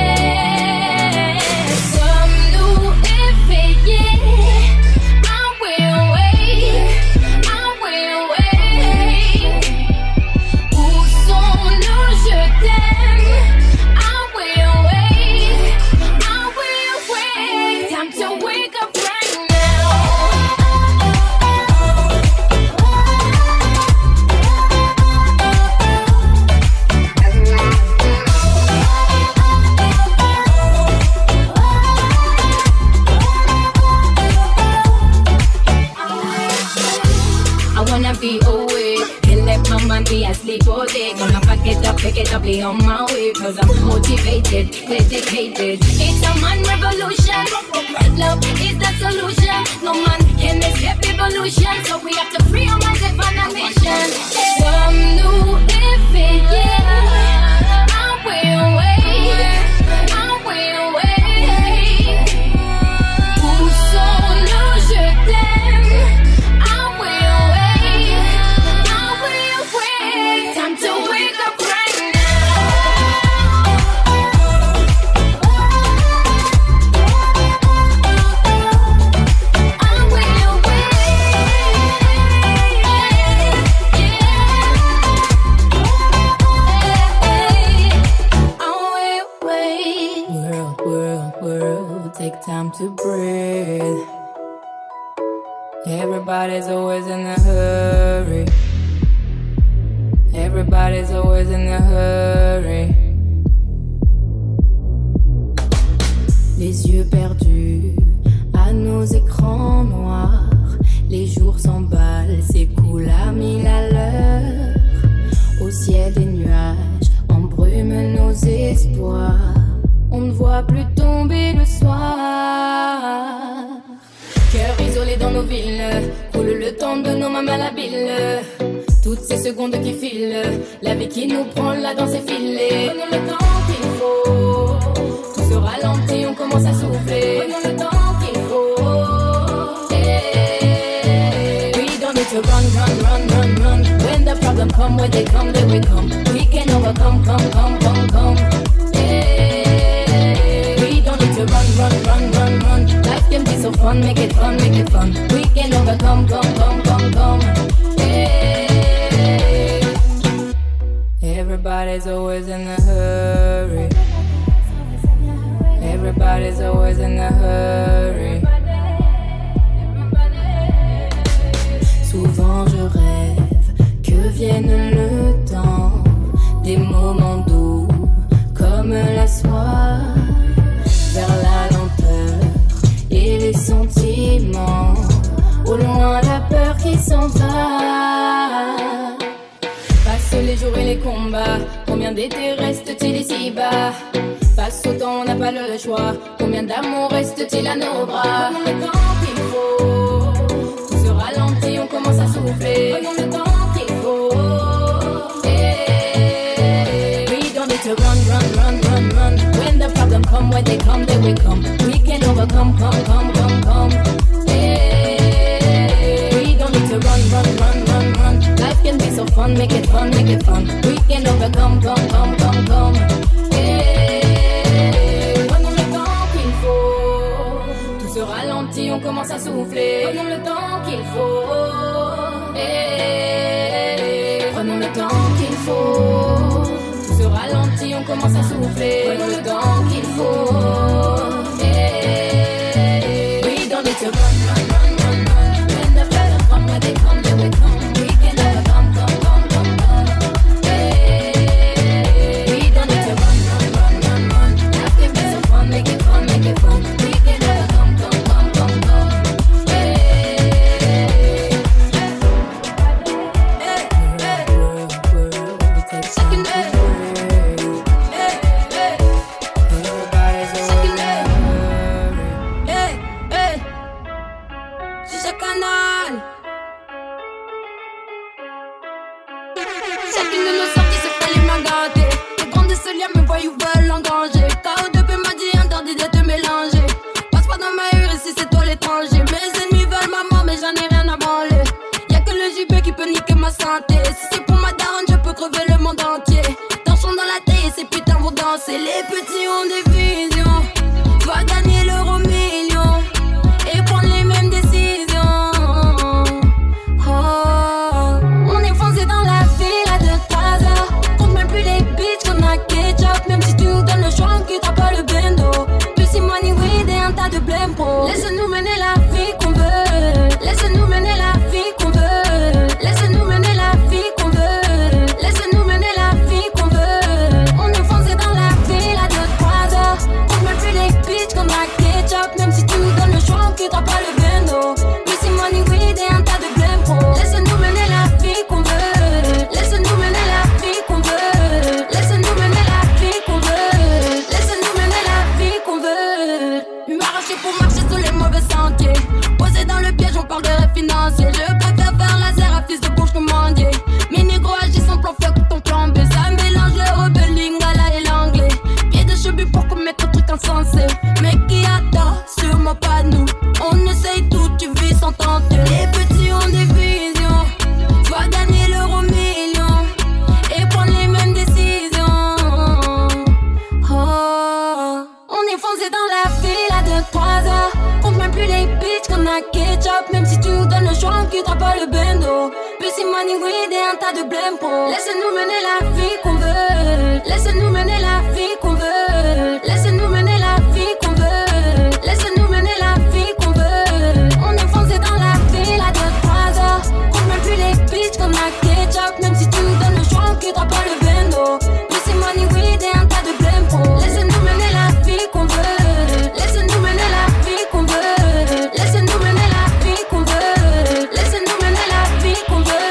Sommes-nous éveillés? I will wait, I will wait. Où sont-nous? Je t'aime. I will wait, I will wait. Time to wake up right now. I wanna be awake, can't let my mind be asleep all day. Gonna pack it up, pick it up, be on my way. Cause I'm motivated, dedicated. It's a man revolution. Love is the solution. No man can escape evolution. So we have to free our minds and find a mission. Sommes-nous éveillés? I will wait, I will wait. Où sont-nous? Je t'aime. I will wait, I will wait. Time to wake up right now. I will wait. World, world, world, take time to breathe. Everybody's always in a hurry. Everybody's always in a hurry. Les yeux perdus à nos écrans noirs. Les jours s'emballent, s'écoulent à mille à l'heure. Au ciel des nuages embrument nos espoirs. On ne voit plus tomber le soir. mille. Coule le temps de nos mains malhabiles. Toutes ces secondes qui filent, la vie qui nous prend, la danse est filée. Prenons le temps qu'il faut, tout se ralentit, on commence à souffler. Prenons le temps qu'il faut, yeah. We don't need to run, run, run, run, run. When the problem come, when they come, then we come. We can overcome, come, come, come, come, yeah. We don't need to run, run, run, run, run. Life can be so fun, make it fun, make it fun. We can overcome, come, come, come, come, yeah. Everybody's always in a hurry. Everybody's always in a hurry. Souvent je rêve que vienne le temps des moments doux comme la soie, vers la lenteur et les sentiments, au loin la peur qui s'en va. Les jours et les combats, combien d'étés reste-t-il ici-bas? Passe au temps, on n'a pas le choix. Combien d'amour reste-t-il à nos bras? Prenons le temps qu'il faut, tout se ralentit, on commence à souffler. Prenons le temps qu'il faut, yeah. We don't need to run, run, run, run, run. When the problem come, when they come, then we come. We can overcome, come, come, come, come, yeah. We don't need to run, run, run, run, run. Life can be so fun, make it fun, make it fun. We can overcome, come, come, come, come, yeah. Prenons le temps qu'il faut, tout se ralentit, on commence à souffler. Prenons le temps qu'il faut, yeah. Prenons le temps qu'il faut, tout se ralentit, on commence à souffler. Prenons le temps qu'il faut, yeah. We don't need to run, run, run, run, run. When the better come, when they come, then we come. We can overcome, come, come, come, come, yeah. We don't need to run, run, run, run, run. Life can be so fun, make it fun, make it fun. We can overcome, come, come, come, come, yeah. Hey, hey, we take second day. Hey, hey, everybody's second day. Hey, hey, c'est ce canal. Chacune de nos sorties se fait les mains gâtées. Les grands de ce lien me voient ou veulent engranger. K O deux P m'a dit interdit de te mélanger. Passe pas dans ma rue ici c'est toi l'étranger. Mes ennemis veulent ma mort mais j'en ai rien à branler. Y'a que le J B qui peut niquer ma santé. Si c'est pour ma daronne je peux crever le monde entier. Torchons dans la tête et ces putains vont danser. Les petits ont des visions, va gagner l'euro million et prendre les mêmes décisions. Oh, on est foncé dans la ville à deux trois heures. Compte même plus les bitches qu'on a ketchup. Même si tu nous donnes le choix on quittera pas le bendo. Plus si money weed et un tas de blême pro. Laisse-nous mener la vie qu'on veut. Laisse-nous mener la vie qu'on veut. Laisse-nous mener la vie qu'on veut. Laisse-nous mener la vie qu'on veut. On est foncé dans la ville à deux trois heures. Compte même plus les bitches qu'on a ketchup. Même si tu nous donnes le choix on quittera pas le bendo. Plus si money weed et un tas de blême pro. Laisse-nous mener la vie qu'on veut. Laisse-nous mener la vie qu'on veut. Laisse-nous mener la vie qu'on veut. Laisse-nous mener la vie qu'on veut. M'arracher pour marcher sur les mauvais sentiers. Posé dans le piège, on parle de rêve financier. Je préfère faire laser à fils de bouche commandier. Mes négros agissent en plan feu que ton plan B. Ça mélange le rebelle, lingala et l'anglais. Pied de cheveux pour commettre un truc insensé. Mais qui attend, sûrement pas nous. On essaye tout, tu vis sans tenter. Les petits ont des visions, va gagner l'euro million et prendre les mêmes décisions. Oh, on est foncé dans la ville à deux trois heures. Compte même plus les bitches qu'on a ketchup. Même si tu nous donnes le choix on quittera pas le bendo. Plus si money weed et un tas de blême pro. Laisse-nous mener la vie qu'on veut. Laisse-nous mener la vie qu'on veut. Laisse-nous mener la vie qu'on veut. Laisse-nous mener la vie qu'on veut. On est foncé dans la ville à deux trois heures. Compte même plus les bitches qu'on a ketchup. Même si tu nous donnes le choix on quittera pas le bendo. Plus si money weed et un tas de blême pro. Laisse-nous mener la vie qu'on veut. Laisse-nous mener la vie qu'on veut. Laisse-nous mener la vie qu'on veut. Laisse-nous mener la vie qu'on veut.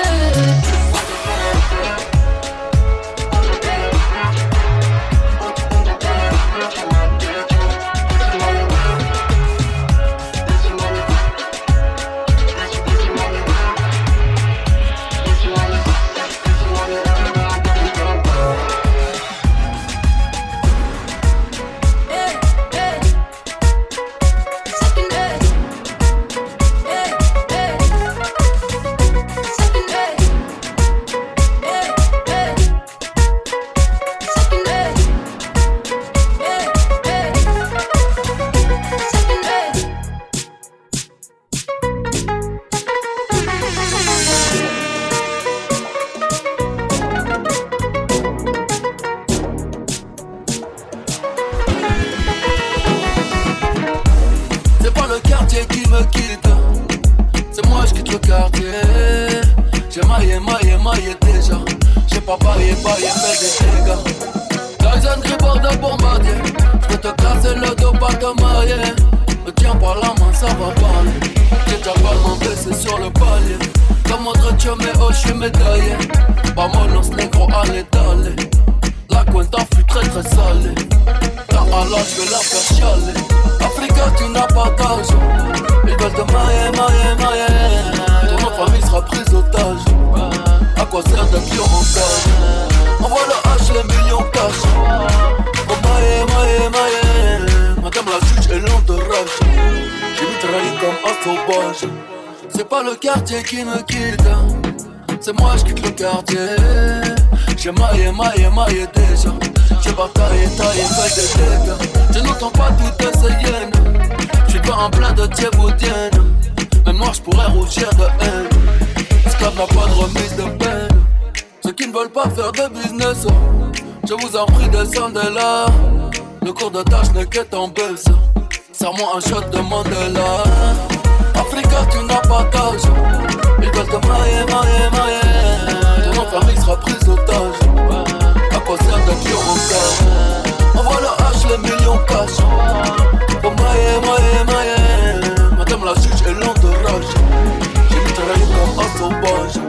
je quitte le quartier. J'ai maillé, maillé, maillé déjà. J'ai pas baillé, baillé, fait des dégâts. Tyson Gribord de bombardier. J'peux te casser le dos, pas te marier. Me tiens par la main, ça va parler. J'ai déjà pas baissé sur le palier. Comme autre tchou, mais oh, j'suis médaillé. Vamonos négro, allez, d'aller. La cuenta fut très très salée. Là alors j'vais la faire chialer. Africa, tu n'as pas d'âge. Ils veulent te marier, marier, marier. Ton autre famille sera prise d'otage. À quoi sert de pion en cage? Envoie le H, les millions cash. Oh maille, maille, maille. Madame la juge est lente de rage. J'ai mitraillé comme un sauvage. C'est pas le quartier qui me quitte, c'est moi je quitte le quartier. J'ai maillé, maillé, maillé déjà. J'ai bataillé, taillé, fait des dégâts. Je n'entends pas toutes ces hyènes. J'suis pas en plein de thieboudienne. Même moi j'pourrais rougir de haine. Esclave n'a pas de remise de peine. Ceux qui ne veulent pas faire de business, je vous en prie descendez là. Le cours de tâche n'est qu'être en baisse. Serre-moi un shot de Mandela. Africa, tu n'as pas d'âge. Ils veulent te marier, marier, marier. Ton famille sera prise d'otage. À quoi sert de pion en cage? Envoie le H, les millions cash. Pour marier, marier, marier. Madame la juge est lente de rage. J'ai mitraillé comme un sauvage.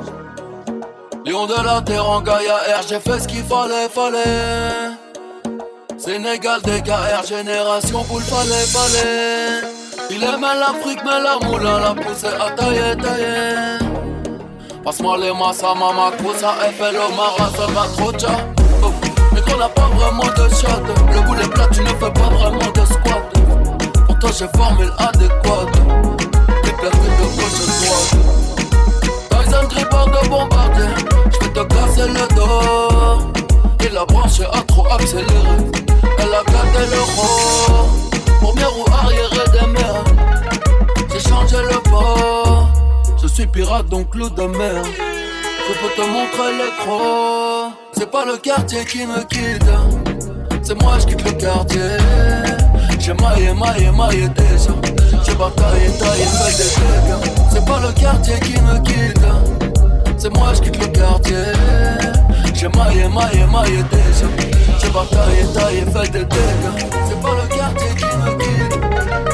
Lion de la terre en Gaïa R, j'ai fait ce qu'il fallait, fallait. Sénégal, D K R, génération boule, fallait, fallait. Il aime l'Afrique, mais la moula la poussée à tailler, tailler. Passe-moi les massas, mama, cousa, F L O, Mara, ça va trop tcha. Oh. Mais qu'on n'a pas vraiment de shot. Le boulet plat, tu ne fais pas vraiment de squat. Pour toi, j'ai formule adéquate. Liberté de gauche et droite. Tyson Gribord de bombardier. J'vais te casser le dos. Et la branche a trop accéléré. Elle a gâté le roi. Première ou arrière des mers. J'ai changé le port. Je suis pirate donc loup de mer. Je peux te montrer les crocs. C'est pas le quartier qui me quitte, c'est moi je quitte le quartier. J'ai maillé, maillé, maillé déjà. J'ai bataillé, taillé, fait des dégâts. C'est pas le quartier qui me quitte, c'est moi je quitte le quartier. J'ai maillé, maillé, maillé déjà. J'ai bataillé, taillé, fait des dégâts. C'est pas le quartier qui me quitte.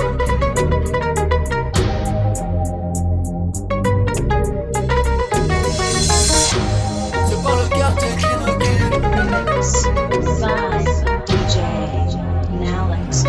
C'est pas le quartier qui me quitte. Vibe D J Nalex.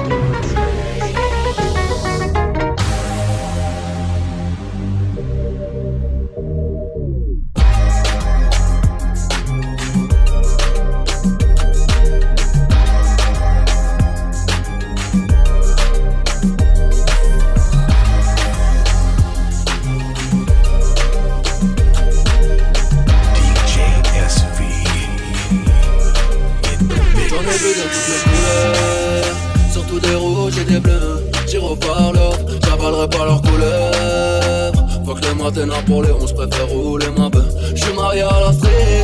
Surtout des rouges et des bleus. J'y repars l'or, j'avalerai pas leur couleur. Faut que les matins pour les onze, préfère rouler ma bœuf. J'suis marié à la street,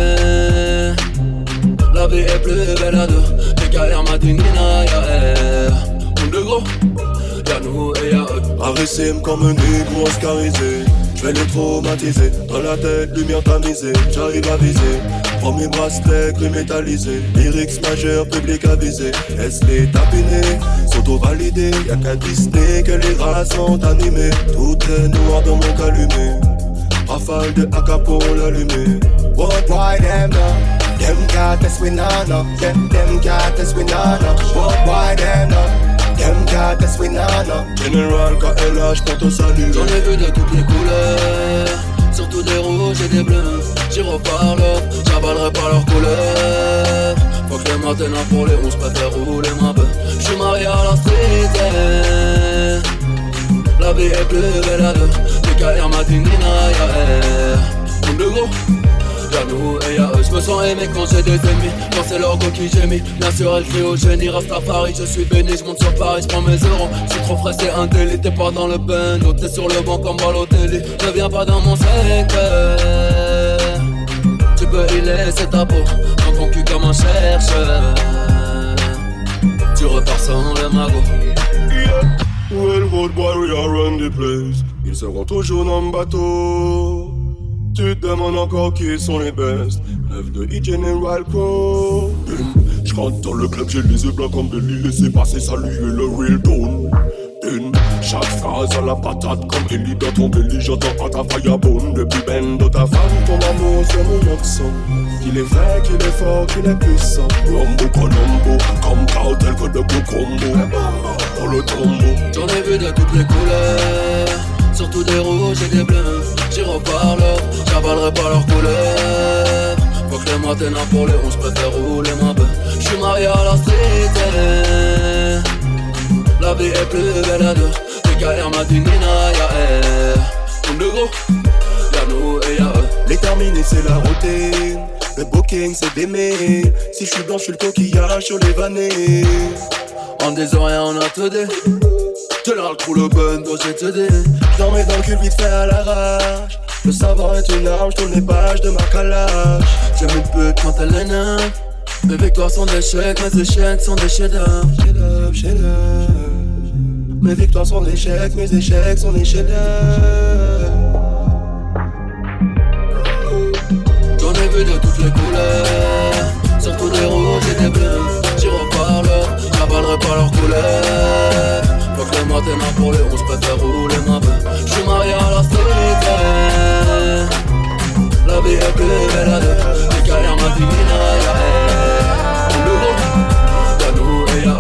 eh. La vie est plus belle à deux. Des carrières Madinina, y'a R. On de gros, y'a nous et y'a eux. Arissime comme un négro oscarisé. J'vais les traumatiser, dans la tête, lumière tamisée. J'arrive à viser, premier bracelet gris métallisé. Lyrics majeurs, public avisé. Est-ce les tapinés, s'auto-validés. Y'a qu'à Disney que les races sont animées. Tout est noir dans mon calumet. Rafale de A K pour l'allumer. What, why them no? Them got us we nah no. Them, them got us we nah no. What, why them no? Them got us we nah no. General K L H pour te saluer. J'en ai vu de toutes les couleurs, surtout des rouges et des bleus. J'y repars l'or, j'avalerai pas leur couleur. Faut que les matins pour les onze, préfère rouler ma bœuf. J'suis marié à la street, eh. La vie est plus belle à deux. Des carrières Madinina, y'a R. On de gros, y'a nous et y'a eux. J'me sens aimé quand j'ai des ennemis. Quand c'est leur go qui j'ai mis. Bien sûr elle crie au génie, reste à Paris. Je suis béni, j'monte sur Paris, j'prends mes euros. J'suis trop frais, c'est un délit. T'es pas dans le bando, t'es sur le banc comme Balotelli. Ne viens pas dans mon secteur. Tu peux y laisser ta peau, dans ton cul comme un chercheur. Tu repars sans le magot. Well, road boy, we are run the place. Ils seront toujours dans le bateau. Tu te demandes encore qui sont les best. Neuf de E-General Pro. Je rentre dans le club, j'ai les yeux blancs comme Belly. Laissez passer, saluer le real tone. Une, chaque phrase à la patate comme Ellie dans ton belly. J'entends à ta firebone. Depuis ben de ta femme, ton amour c'est mon accent. Qu'il est vrai, qu'il est fort, qu'il est puissant. Rombo Colombo, comme cartel que de beau combo. Pour le tombeau. J'en ai vu de toutes les couleurs, surtout des rouges et des bleus. J'y reparle, j'avalerai pas leurs couleurs. Faut que les matins pour les rouges, préfère rouler ma bœuf. J'suis marié à la street. La vie est plus belle à deux. T K R m'a dit Nina, y'a elle. Comme de gros, y'a nous et y'a eux. Les terminés c'est la routine. Le booking c'est des mails. Si j'suis blanc j'suis le coquillage sur les vannées. En disant rien on a tout dit. Tu l'as le trou le bun dont j'ai te dit. J'en mets dans le cul vite fait à l'arrache. Le savoir est une arme, j'tourne les pages de ma calage. J'aime une pute quand elle est neuve. Mes victoires sont des chèques, mes échecs sont des chefs-d'œuvre. Chef-d'œuvre, chef-d'œuvre. Mes victoires sont des échecs, mes échecs sont des chefs-d'œuvre. J'en ai vu de toutes les couleurs, surtout des rouges et des bleus. J'y reparle, j'avalerai pas leurs couleurs. Faut que les matins pour les rouges, préfère rouler ma bœuf. J'suis marié à la street. La vie est plus belle à deux. Les carrières m'a dit Nina, y'a elle. Le gros, y'a nous et y'a eux.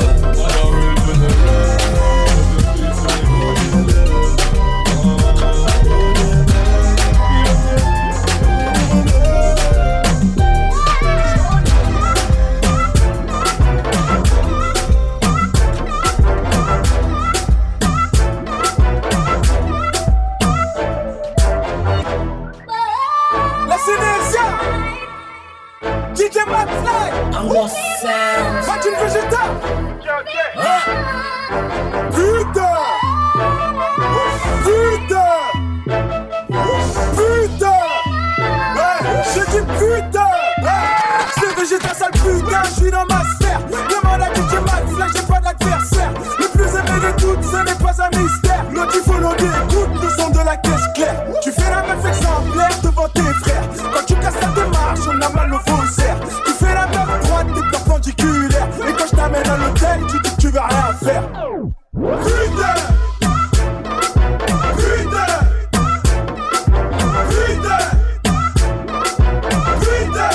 D J McFly, Martin Vegeta. Putain, putain, putain. Ouais, j'ai dit putain. C'est Vegeta sale putain, j'suis dans ma sphère. Demande à D J McFly, j'ai pas d'adversaire. Le plus aimé de toutes, ce n'est pas un mystère. L'autre il faut l'audio, écoute le son de la caisse claire. Tu fais la meuf exemplaire devant tes frères. Quand tu casses ta démarche, on a mal au faussaire. Tu fais la meuf droite, t'es perpendiculaire. Et quand je t'amène à l'hôtel, tu dis que tu vas rien faire. Putain, putain, putain, putain,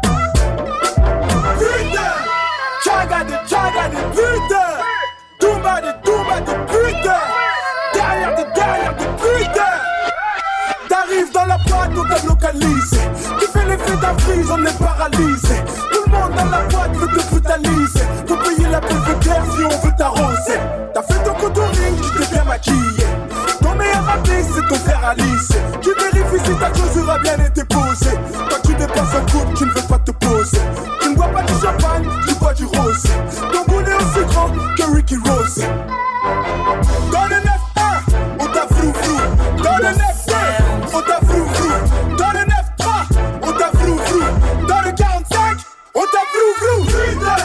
putain. Tchagade, tchagade, putain. Toumba de toumba de putain. Derrière de derrière de putain. T'arrives dans la boîte, on t'a localisé. Tu fais l'effet d'un freeze, on est paralysé. Tout le monde dans la boîte veut te brutaliser. Faut payer la peine de guerre si on veut t'arroser. T'as fait ton contouring, tu t'es bien maquillé. Ton meilleur ami, c'est ton frère Alice. Tu vérifies si ta chaussure a bien été posée. Quand tu dépasses un couple, tu ne veux pas te poser. Tu ne bois pas du champagne, tu bois du rosé. Ton boule est aussi grand que Ricky Rose. Dans le neuf un, on t'a frou frou. Dans le neuf deux, on t'a frou frou. Dans le neuf trois, on t'a frou frou. Dans le quarante-cinq, on t'a frou frou. Putain,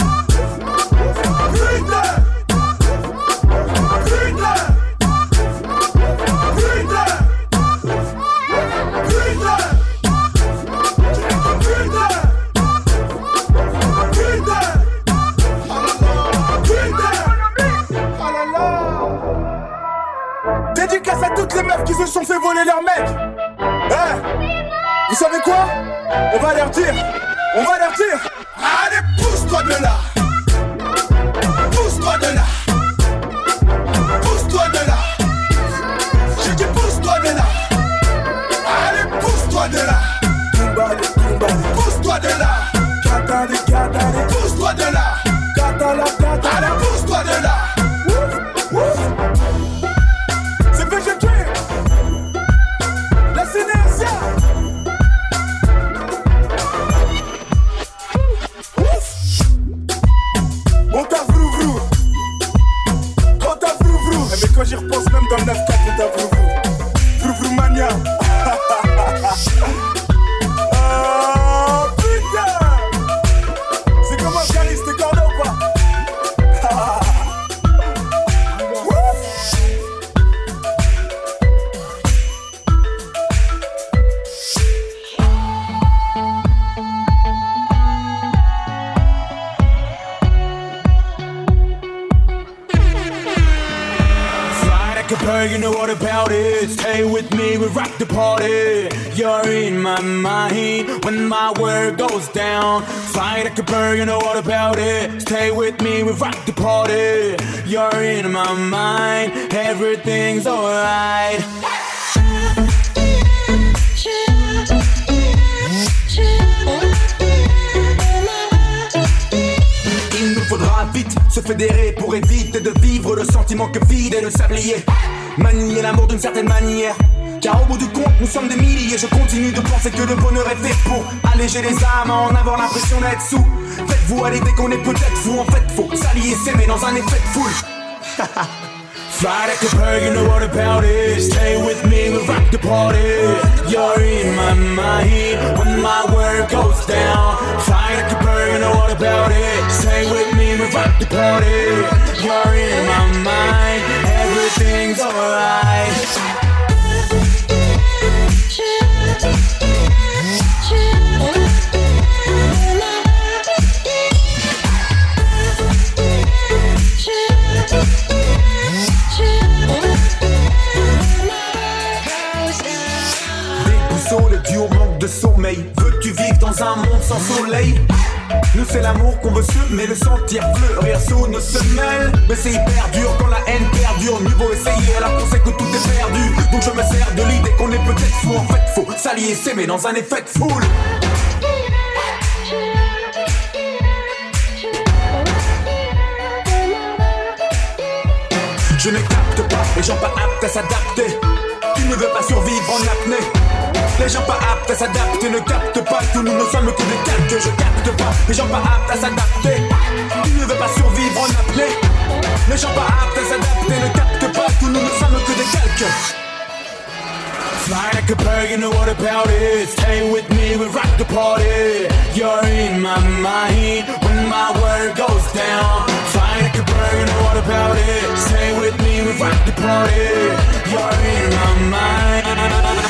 putain, putain, putain, putain, putain, putain. Dédicace à toutes les meufs qui se sont fait voler leur mec. Hein? Vous savez quoi? On va leur dire, on va leur dire. Allez, pousse-toi de là. Pousse-toi de là. Pousse-toi de là. J'ai dit pousse-toi de là. Allez, pousse-toi de là. Pousse-toi de là. Pousse-toi de là. Allez, pousse-toi de là. C'est V G K. La Sénésia. it. Stay with me, we rock the party. You're in my mind when my world goes down. Fly like a bird, you know what about it. Stay with me, we rock the party. You're in my mind, everything's alright. Il nous faudra vite se fédérer pour éviter de vivre le sentiment que vide est le sablier. Manier l'amour d'une certaine manière, car au bout du compte nous sommes des milliers. Je continue de penser que le bonheur est fait pour alléger les âmes, en avoir l'impression d'être sous. Faites-vous à l'idée qu'on est peut-être fou. En fait faut s'allier, s'aimer dans un effet de foule. Fly like a bird, you know what about it. Stay with me, we rock the party. You're in my mind when my world goes down. Fly like a bird, you know what about it. Stay with me, we rock the party. You're in my mind, everything's alright. Le duo manque de sommeil. Veux-tu vivre dans un monde sans soleil? Nous c'est l'amour qu'on veut semer, le sentir fleurir sous nos semelles. Mais c'est hyper dur quand la haine perdure. Mieux vaut essayer alors qu'on sait que tout est perdu. Donc je me sers de l'idée qu'on est peut-être fou. En fait faut s'allier, s'aimer dans un effet de foule. Je ne capte pas les gens pas aptes à s'adapter. Tu ne veux pas survivre en apnée. Les gens pas aptes à s'adapter ne captent pas que nous ne sommes que des calques. Je capte pas les gens pas aptes à s'adapter. Tu ne veux pas survivre en apnée. Les gens pas aptes à s'adapter ne captent pas que nous ne sommes que des calques. Fly like a bird, you know what about it. Stay with me, we rock the party. You're in my mind when my world goes down. Fly like a bird, you know what about it. Stay with me, we rock the party. You're in my mind.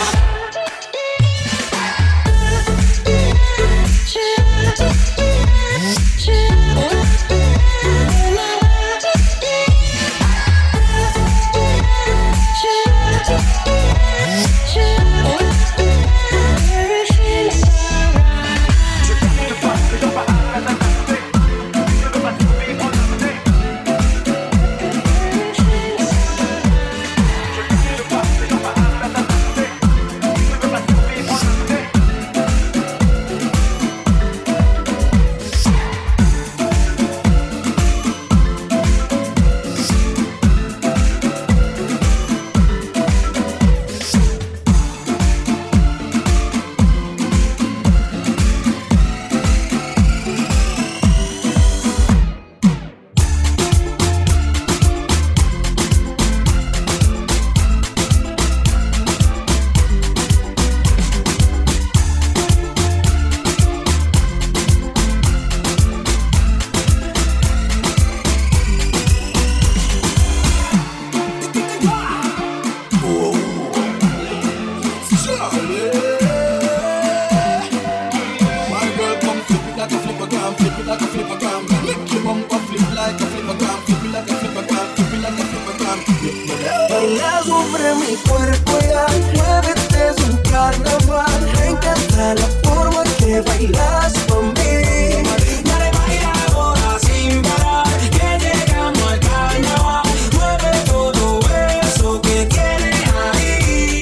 Baila sobre mi cuerpo ya, muévete, es un carnaval. Me encanta la forma que bailas con mí. Dale, baila ahora sin parar, que llegamos al carnaval. Mueve todo eso que tienes ahí.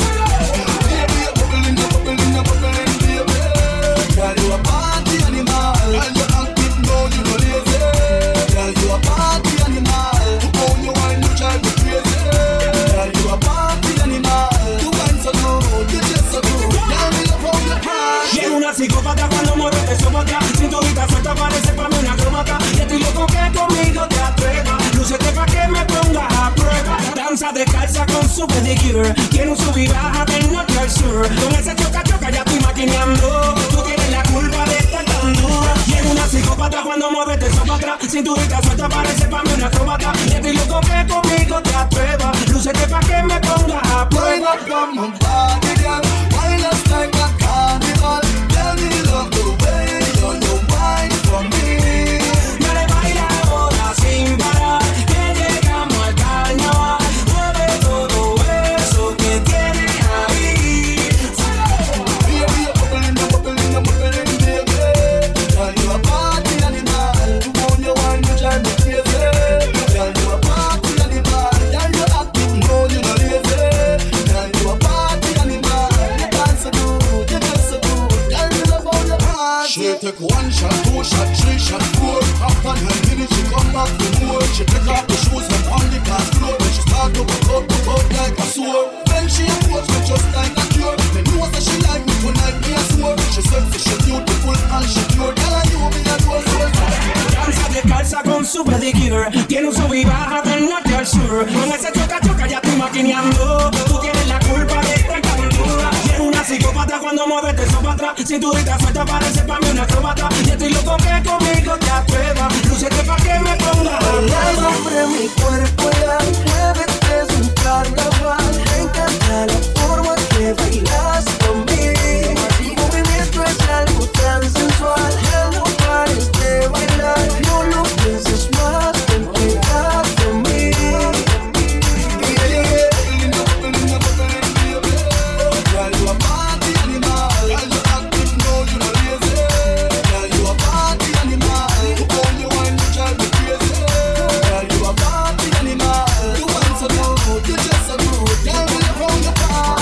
Girl, you a party animal, and you active, no, you no lazy. Girl, you a party animal, how you wine, you drive me crazy. Girl, you a party animal, you wine so good, you just so good. Girl, me love how you party. Llega una psicópata cuando mueve eso para atrás. Cinturita suelta parece para mí una cromata. Y estoy loco que conmigo te atrevas. Lúcete pa' que me pongas a prueba. Danza descalza con su pedicure. Quiero un sub y baja del norte al sur. Con ese choca choca ya estoy maquineando. Tú tienes la culpa de estar tan dura. Llega una psicópata cuando mueve eso para atrás. Cinturita suelta parece para mí una cromata. Y estoy loco que conmigo te atrevas. Lúcete pa' que me pongas a prueba. Come on, party girl, wine us like a carnival. Tell me love the way you you wine for me. Dale, baila ahora sin parar, que llegamos al carnaval. Mueve todo eso take one shot, two shot, three shot, four. After nine minutes, she come back for more. She take off the shoes and on the dance floor. When she start to buck up, buck up like a sword. Then she approach me just like a cure. Me know that she like me tonight, me a swore. She said she beautiful and she pure. Girl, I knew me a roll, roll. Danza de calza con su pedicure. Tiene un sub y baja del norte al sur. Con ese choca choca ya estoy maquineando. Tú tienes la culpa de esta calentura. Y eres una psicópata cuando mueves eso para atrás. Cinturita suelta parece pa' mí una acróbata. Y estoy loco que conmigo te atrevas. Lúcete pa' que me ponga Baila sobre mi cuerpo ya, muévete, es un carnaval. Me encanta la forma que bailas conmigo. Tu movimiento es algo tan sensual. Ya no pares de bailar, no lo pienses más, ven pegado a mí. Girl, you a party animal. Girl, you active, no, you no lazy. Girl, you a party animal. You only wine, you drive me crazy. Girl, you a party animal. You want so good, you just so good. Girl, when you roll your body.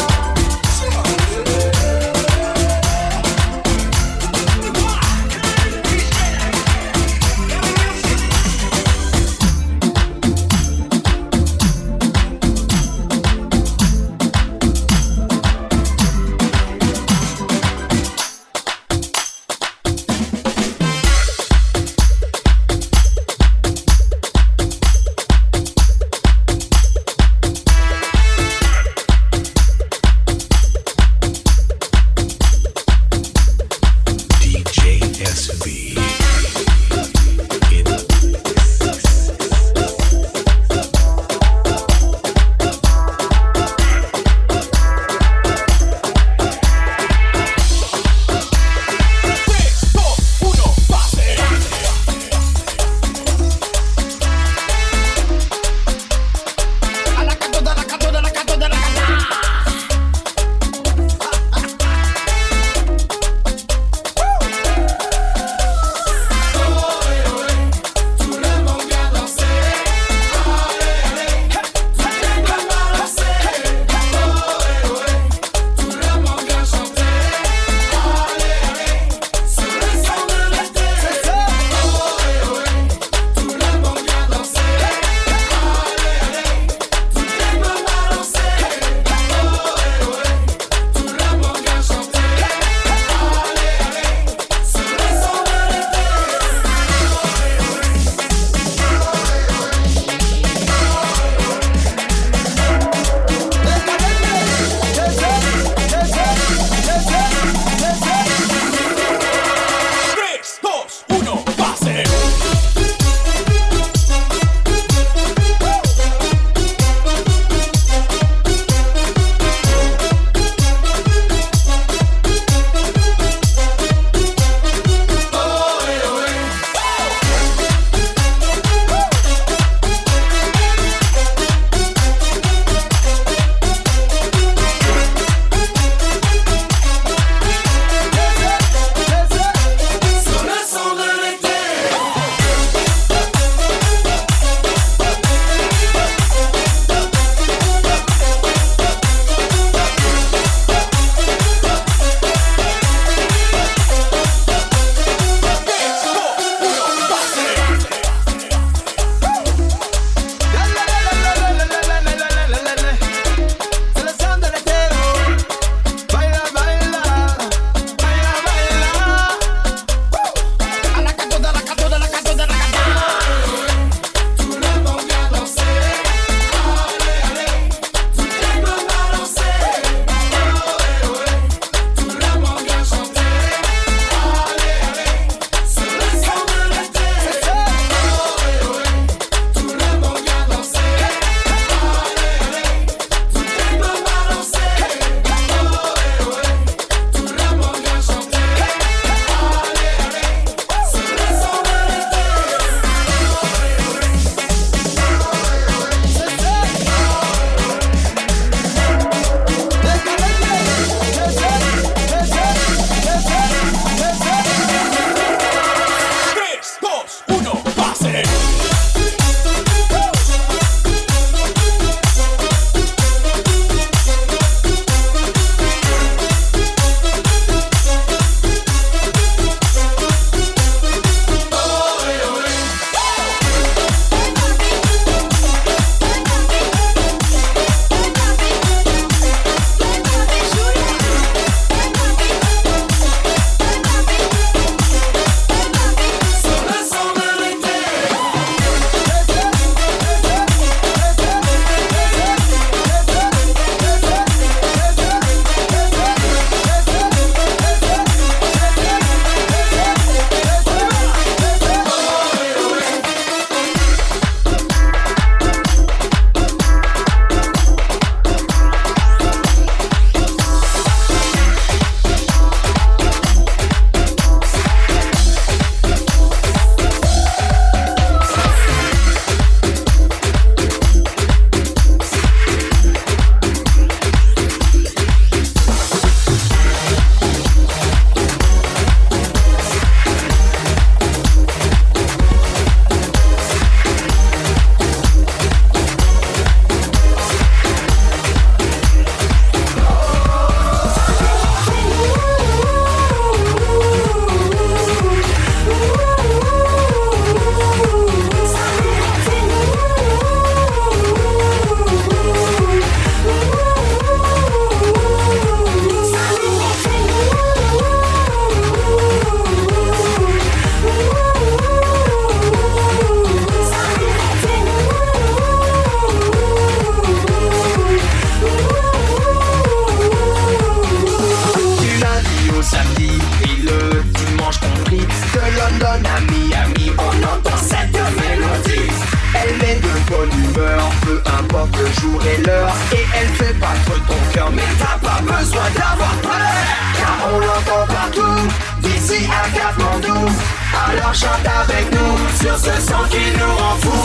peur et elle fait battre ton cœur. Mais t'as pas besoin d'avoir peur, car on l'entend partout, d'ici à Katmandou. Alors chante avec nous sur ce son qui nous rend fous.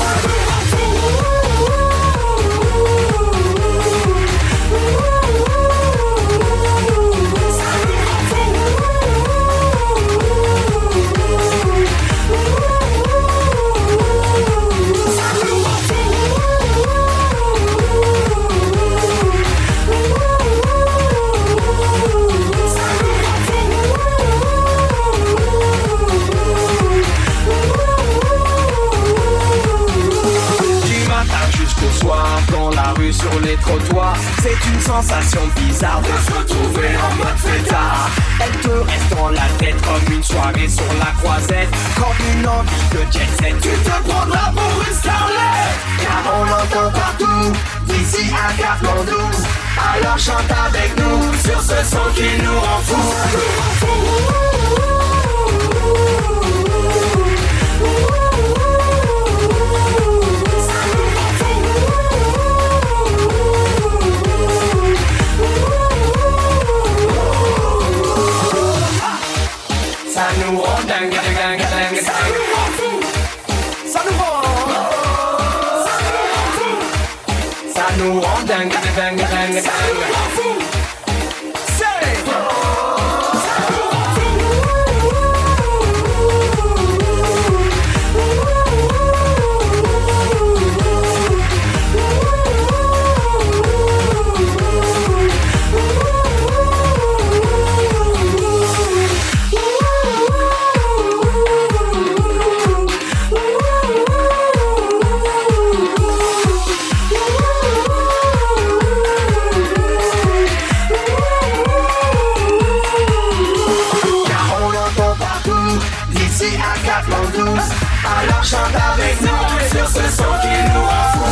Dans la rue, sur les trottoirs, c'est une sensation bizarre de se retrouver en mode fêtard. Elle te reste dans la tête comme une soirée sur la croisette, comme une envie de jet set. Tu te prendras pour une starlet, car on l'entend partout, d'ici à Katmandou. Alors chante avec nous sur ce son qui nous rend fous. Ça nous rend dingue, dingue, dingue, dingue. Ça nous rend. Ça nous rend dingue, dingue, dingue, dingue. Alors chante avec nous sur ce son qui nous rend fous.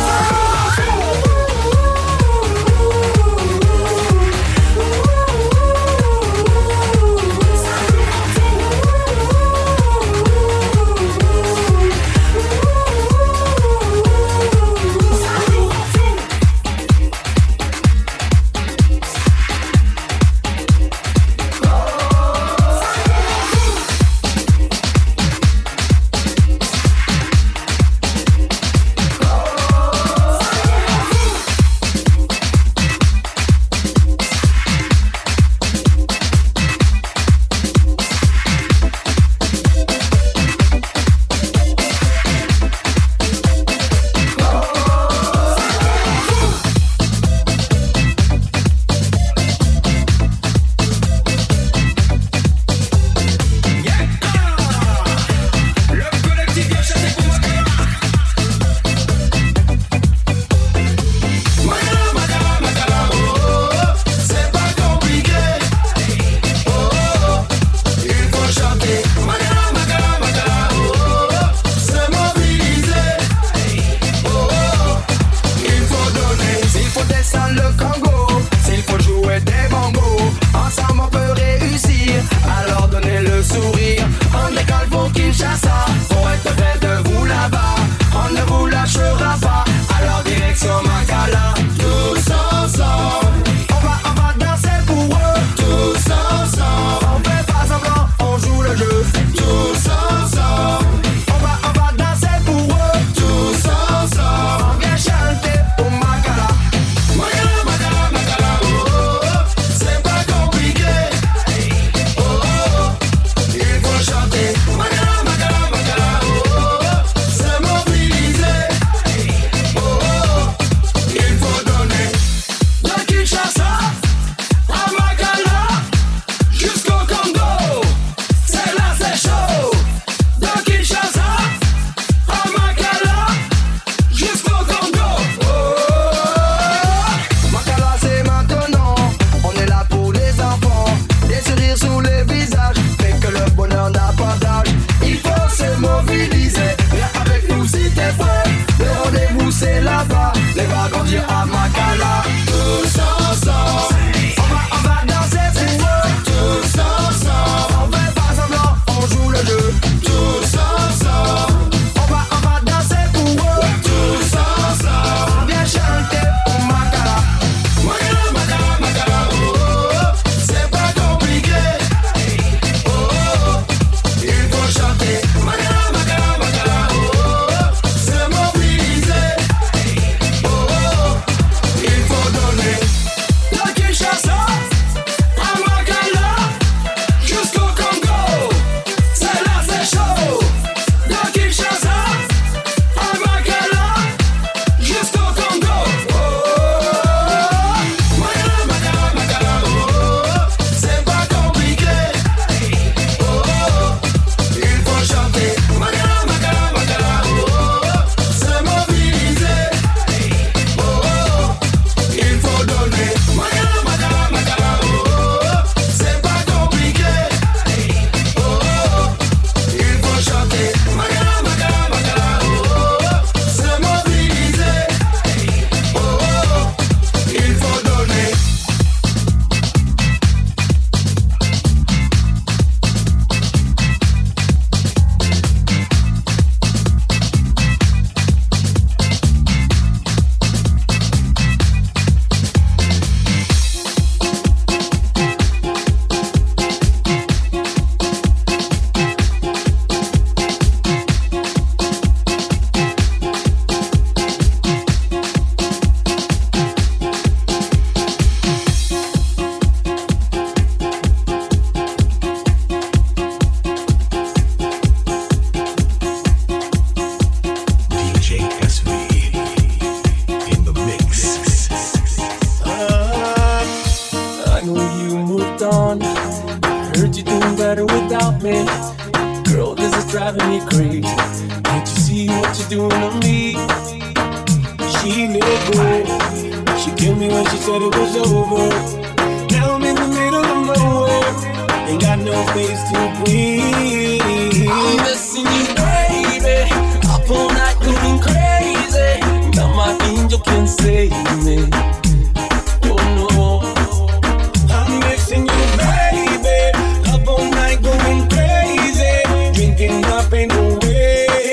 you moved on. I heard you doing better without me. Girl, this is driving me crazy. Can't you see what you're doing to me? She let go. She killed me when she said it was over. Now I'm in the middle of nowhere. Ain't got no place to breathe. I'm missing you, baby. Up all night going crazy. Now my angel can't save me. Oh no. I'm missing you, baby. Up all night going crazy. Drinking up in the way.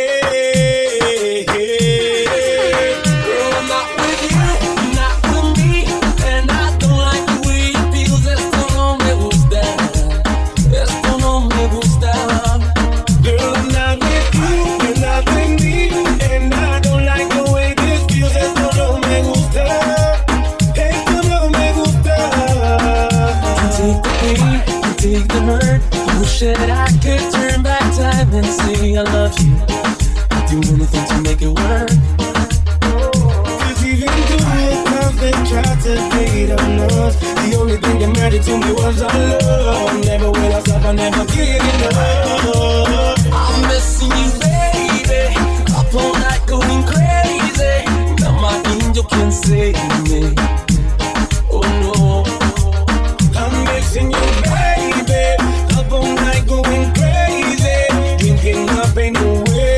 Girl, I'm not with you, not with me. And I don't like the way it feels. Esto no me gusta. Esto no me gusta. Girl, I'm not with you, you're not with me. And I don't like the way this feels. Esto no me gusta. Esto no me gusta. You take the pain, you take the hurt. I wish that I could turn back time and say I love you. I'd do anything to make it work. Cause even through the times they tried to hate on us, the only thing that mattered to me was our love. Never will I stop, I never get enough. I'm missing you, baby. Up all night going crazy. Now my angel can't save me. Oh no. I'm missing you, baby. Up all night going crazy. Drinking up in the way.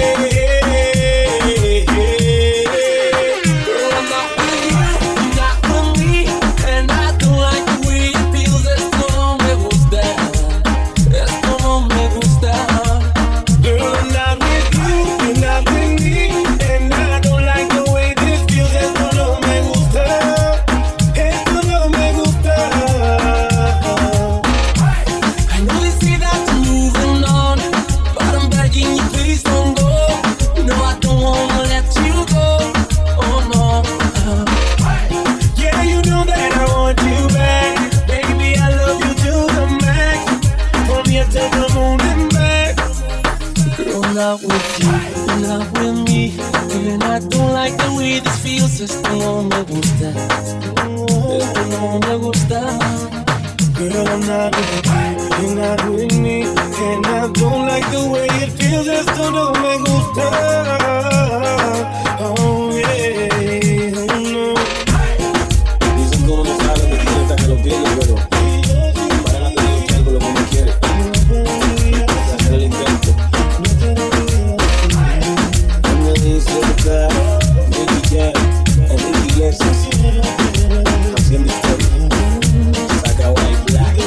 Girl, I'm not with you, not with me. And I don't like the way it feels. Esto no me gusta. Esto no me gusta. Girl, I'm not with you, you're not with me. And I don't like the way this feels. Esto no me gusta. Esto no me gusta. I know they say that you're moving on, but I'm begging you, please don't go. No, I don't wanna let you go. Oh no. Yeah, you know that I want you back. Baby, I love you to the max. From here to the moon and back. Girl, not with you, not with me. And I don't like the way this feels. Esto no me gusta. Esto no me gusta. Girl, I'm not with you, you're not with me. And I don't like the way it feels. Esto no me gusta. Oh yeah, oh no. Dicen como no saben que tiene hasta que lo tiene, pero para no tener que algo lo que uno quiere. Hacer el intento. I'm really cerca, Nicky Jam, Enrique Iglesias, haciendo historia. Saca White Black.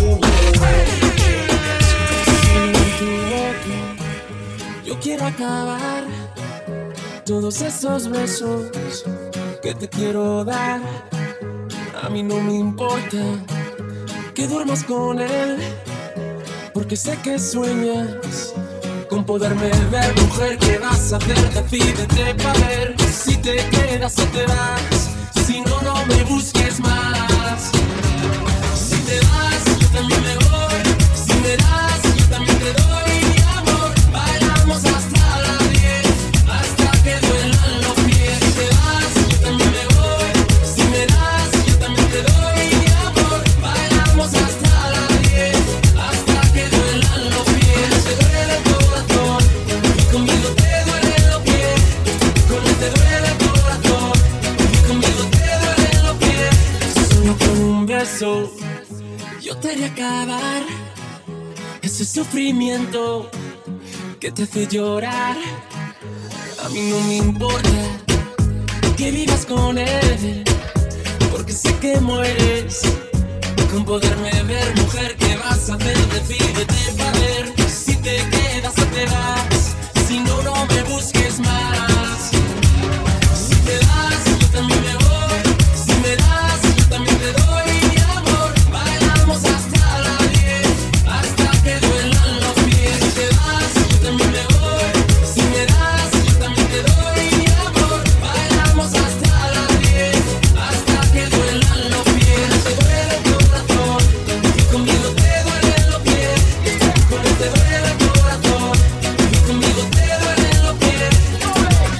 Yo quiero acabar todos esos besos que te quiero dar. A mí no me importa que duermas con él, porque sé que sueñas con poderme ver. Mujer, ¿qué vas a hacer? Decídete pa' ver si te quedas o te vas. Si no, no me busques más. Si te vas, yo también me voy. Si me das, yo también te doy mi amor. Bailamos hasta las diez, hasta que duelan los pies. Si te vas, yo también me voy. Si me das, yo también te doy mi amor. Bailamos hasta las diez, hasta que duelan los pies. Te duele el corazón y conmigo te duelen los pies. Con él te duele el corazón y conmigo te duelen los pies. Solo con un beso yo te haré acabar ese sufrimiento que te hace llorar. A mí no me importa que vivas con él, porque sé que mueres con poderme ver. Mujer, ¿qué vas a hacer? Decídete para ver si te quedas o te vas. Si no, no me busques más. Si te das, yo también me voy. Si me das, yo también te doy mi amor. Bailamos hasta las diez, hasta que duelan los pies. Si te das, yo también me voy. Si me das, yo también te doy mi amor. Bailamos hasta las diez, hasta que duelan los pies. Te duele el corazón y conmigo te duelen los pies. Con él te duele el corazón y conmigo te duelen los pies.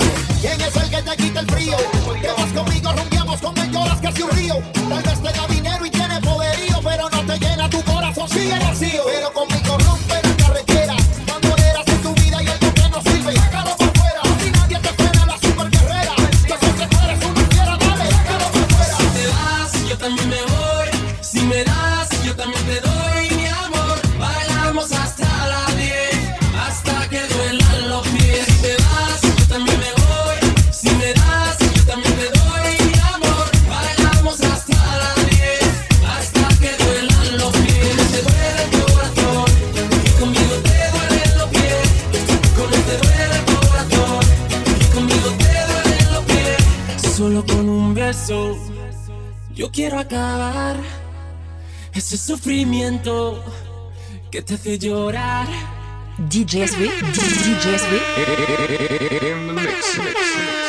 sigue vacío, pero conmigo rompe la carretera. Cuando eras en tu vida y algo que no sirve, sácalo por fuera. Si nadie te frena la super carrera, yo sé que tú eres una fiera, dale, sácalo por fuera. Si te vas, yo también me voy. Si me das, yo también te doy, mi amor. Bailamos hasta las diez, hasta que duelan los pies. Si te vas, yo también me voy. Si me das, yo también te doy, mi amor. Bailamos hasta las diez, hasta que duelan los pies. Te duele el corazón, y conmigo te duelen los pies. Con él te duele el corazón, y conmigo te duelen los pies. Solo con un beso yo quiero acabar ese sufrimiento que te hace llorar. D J S V, D J S V. In the mix, mix, mix.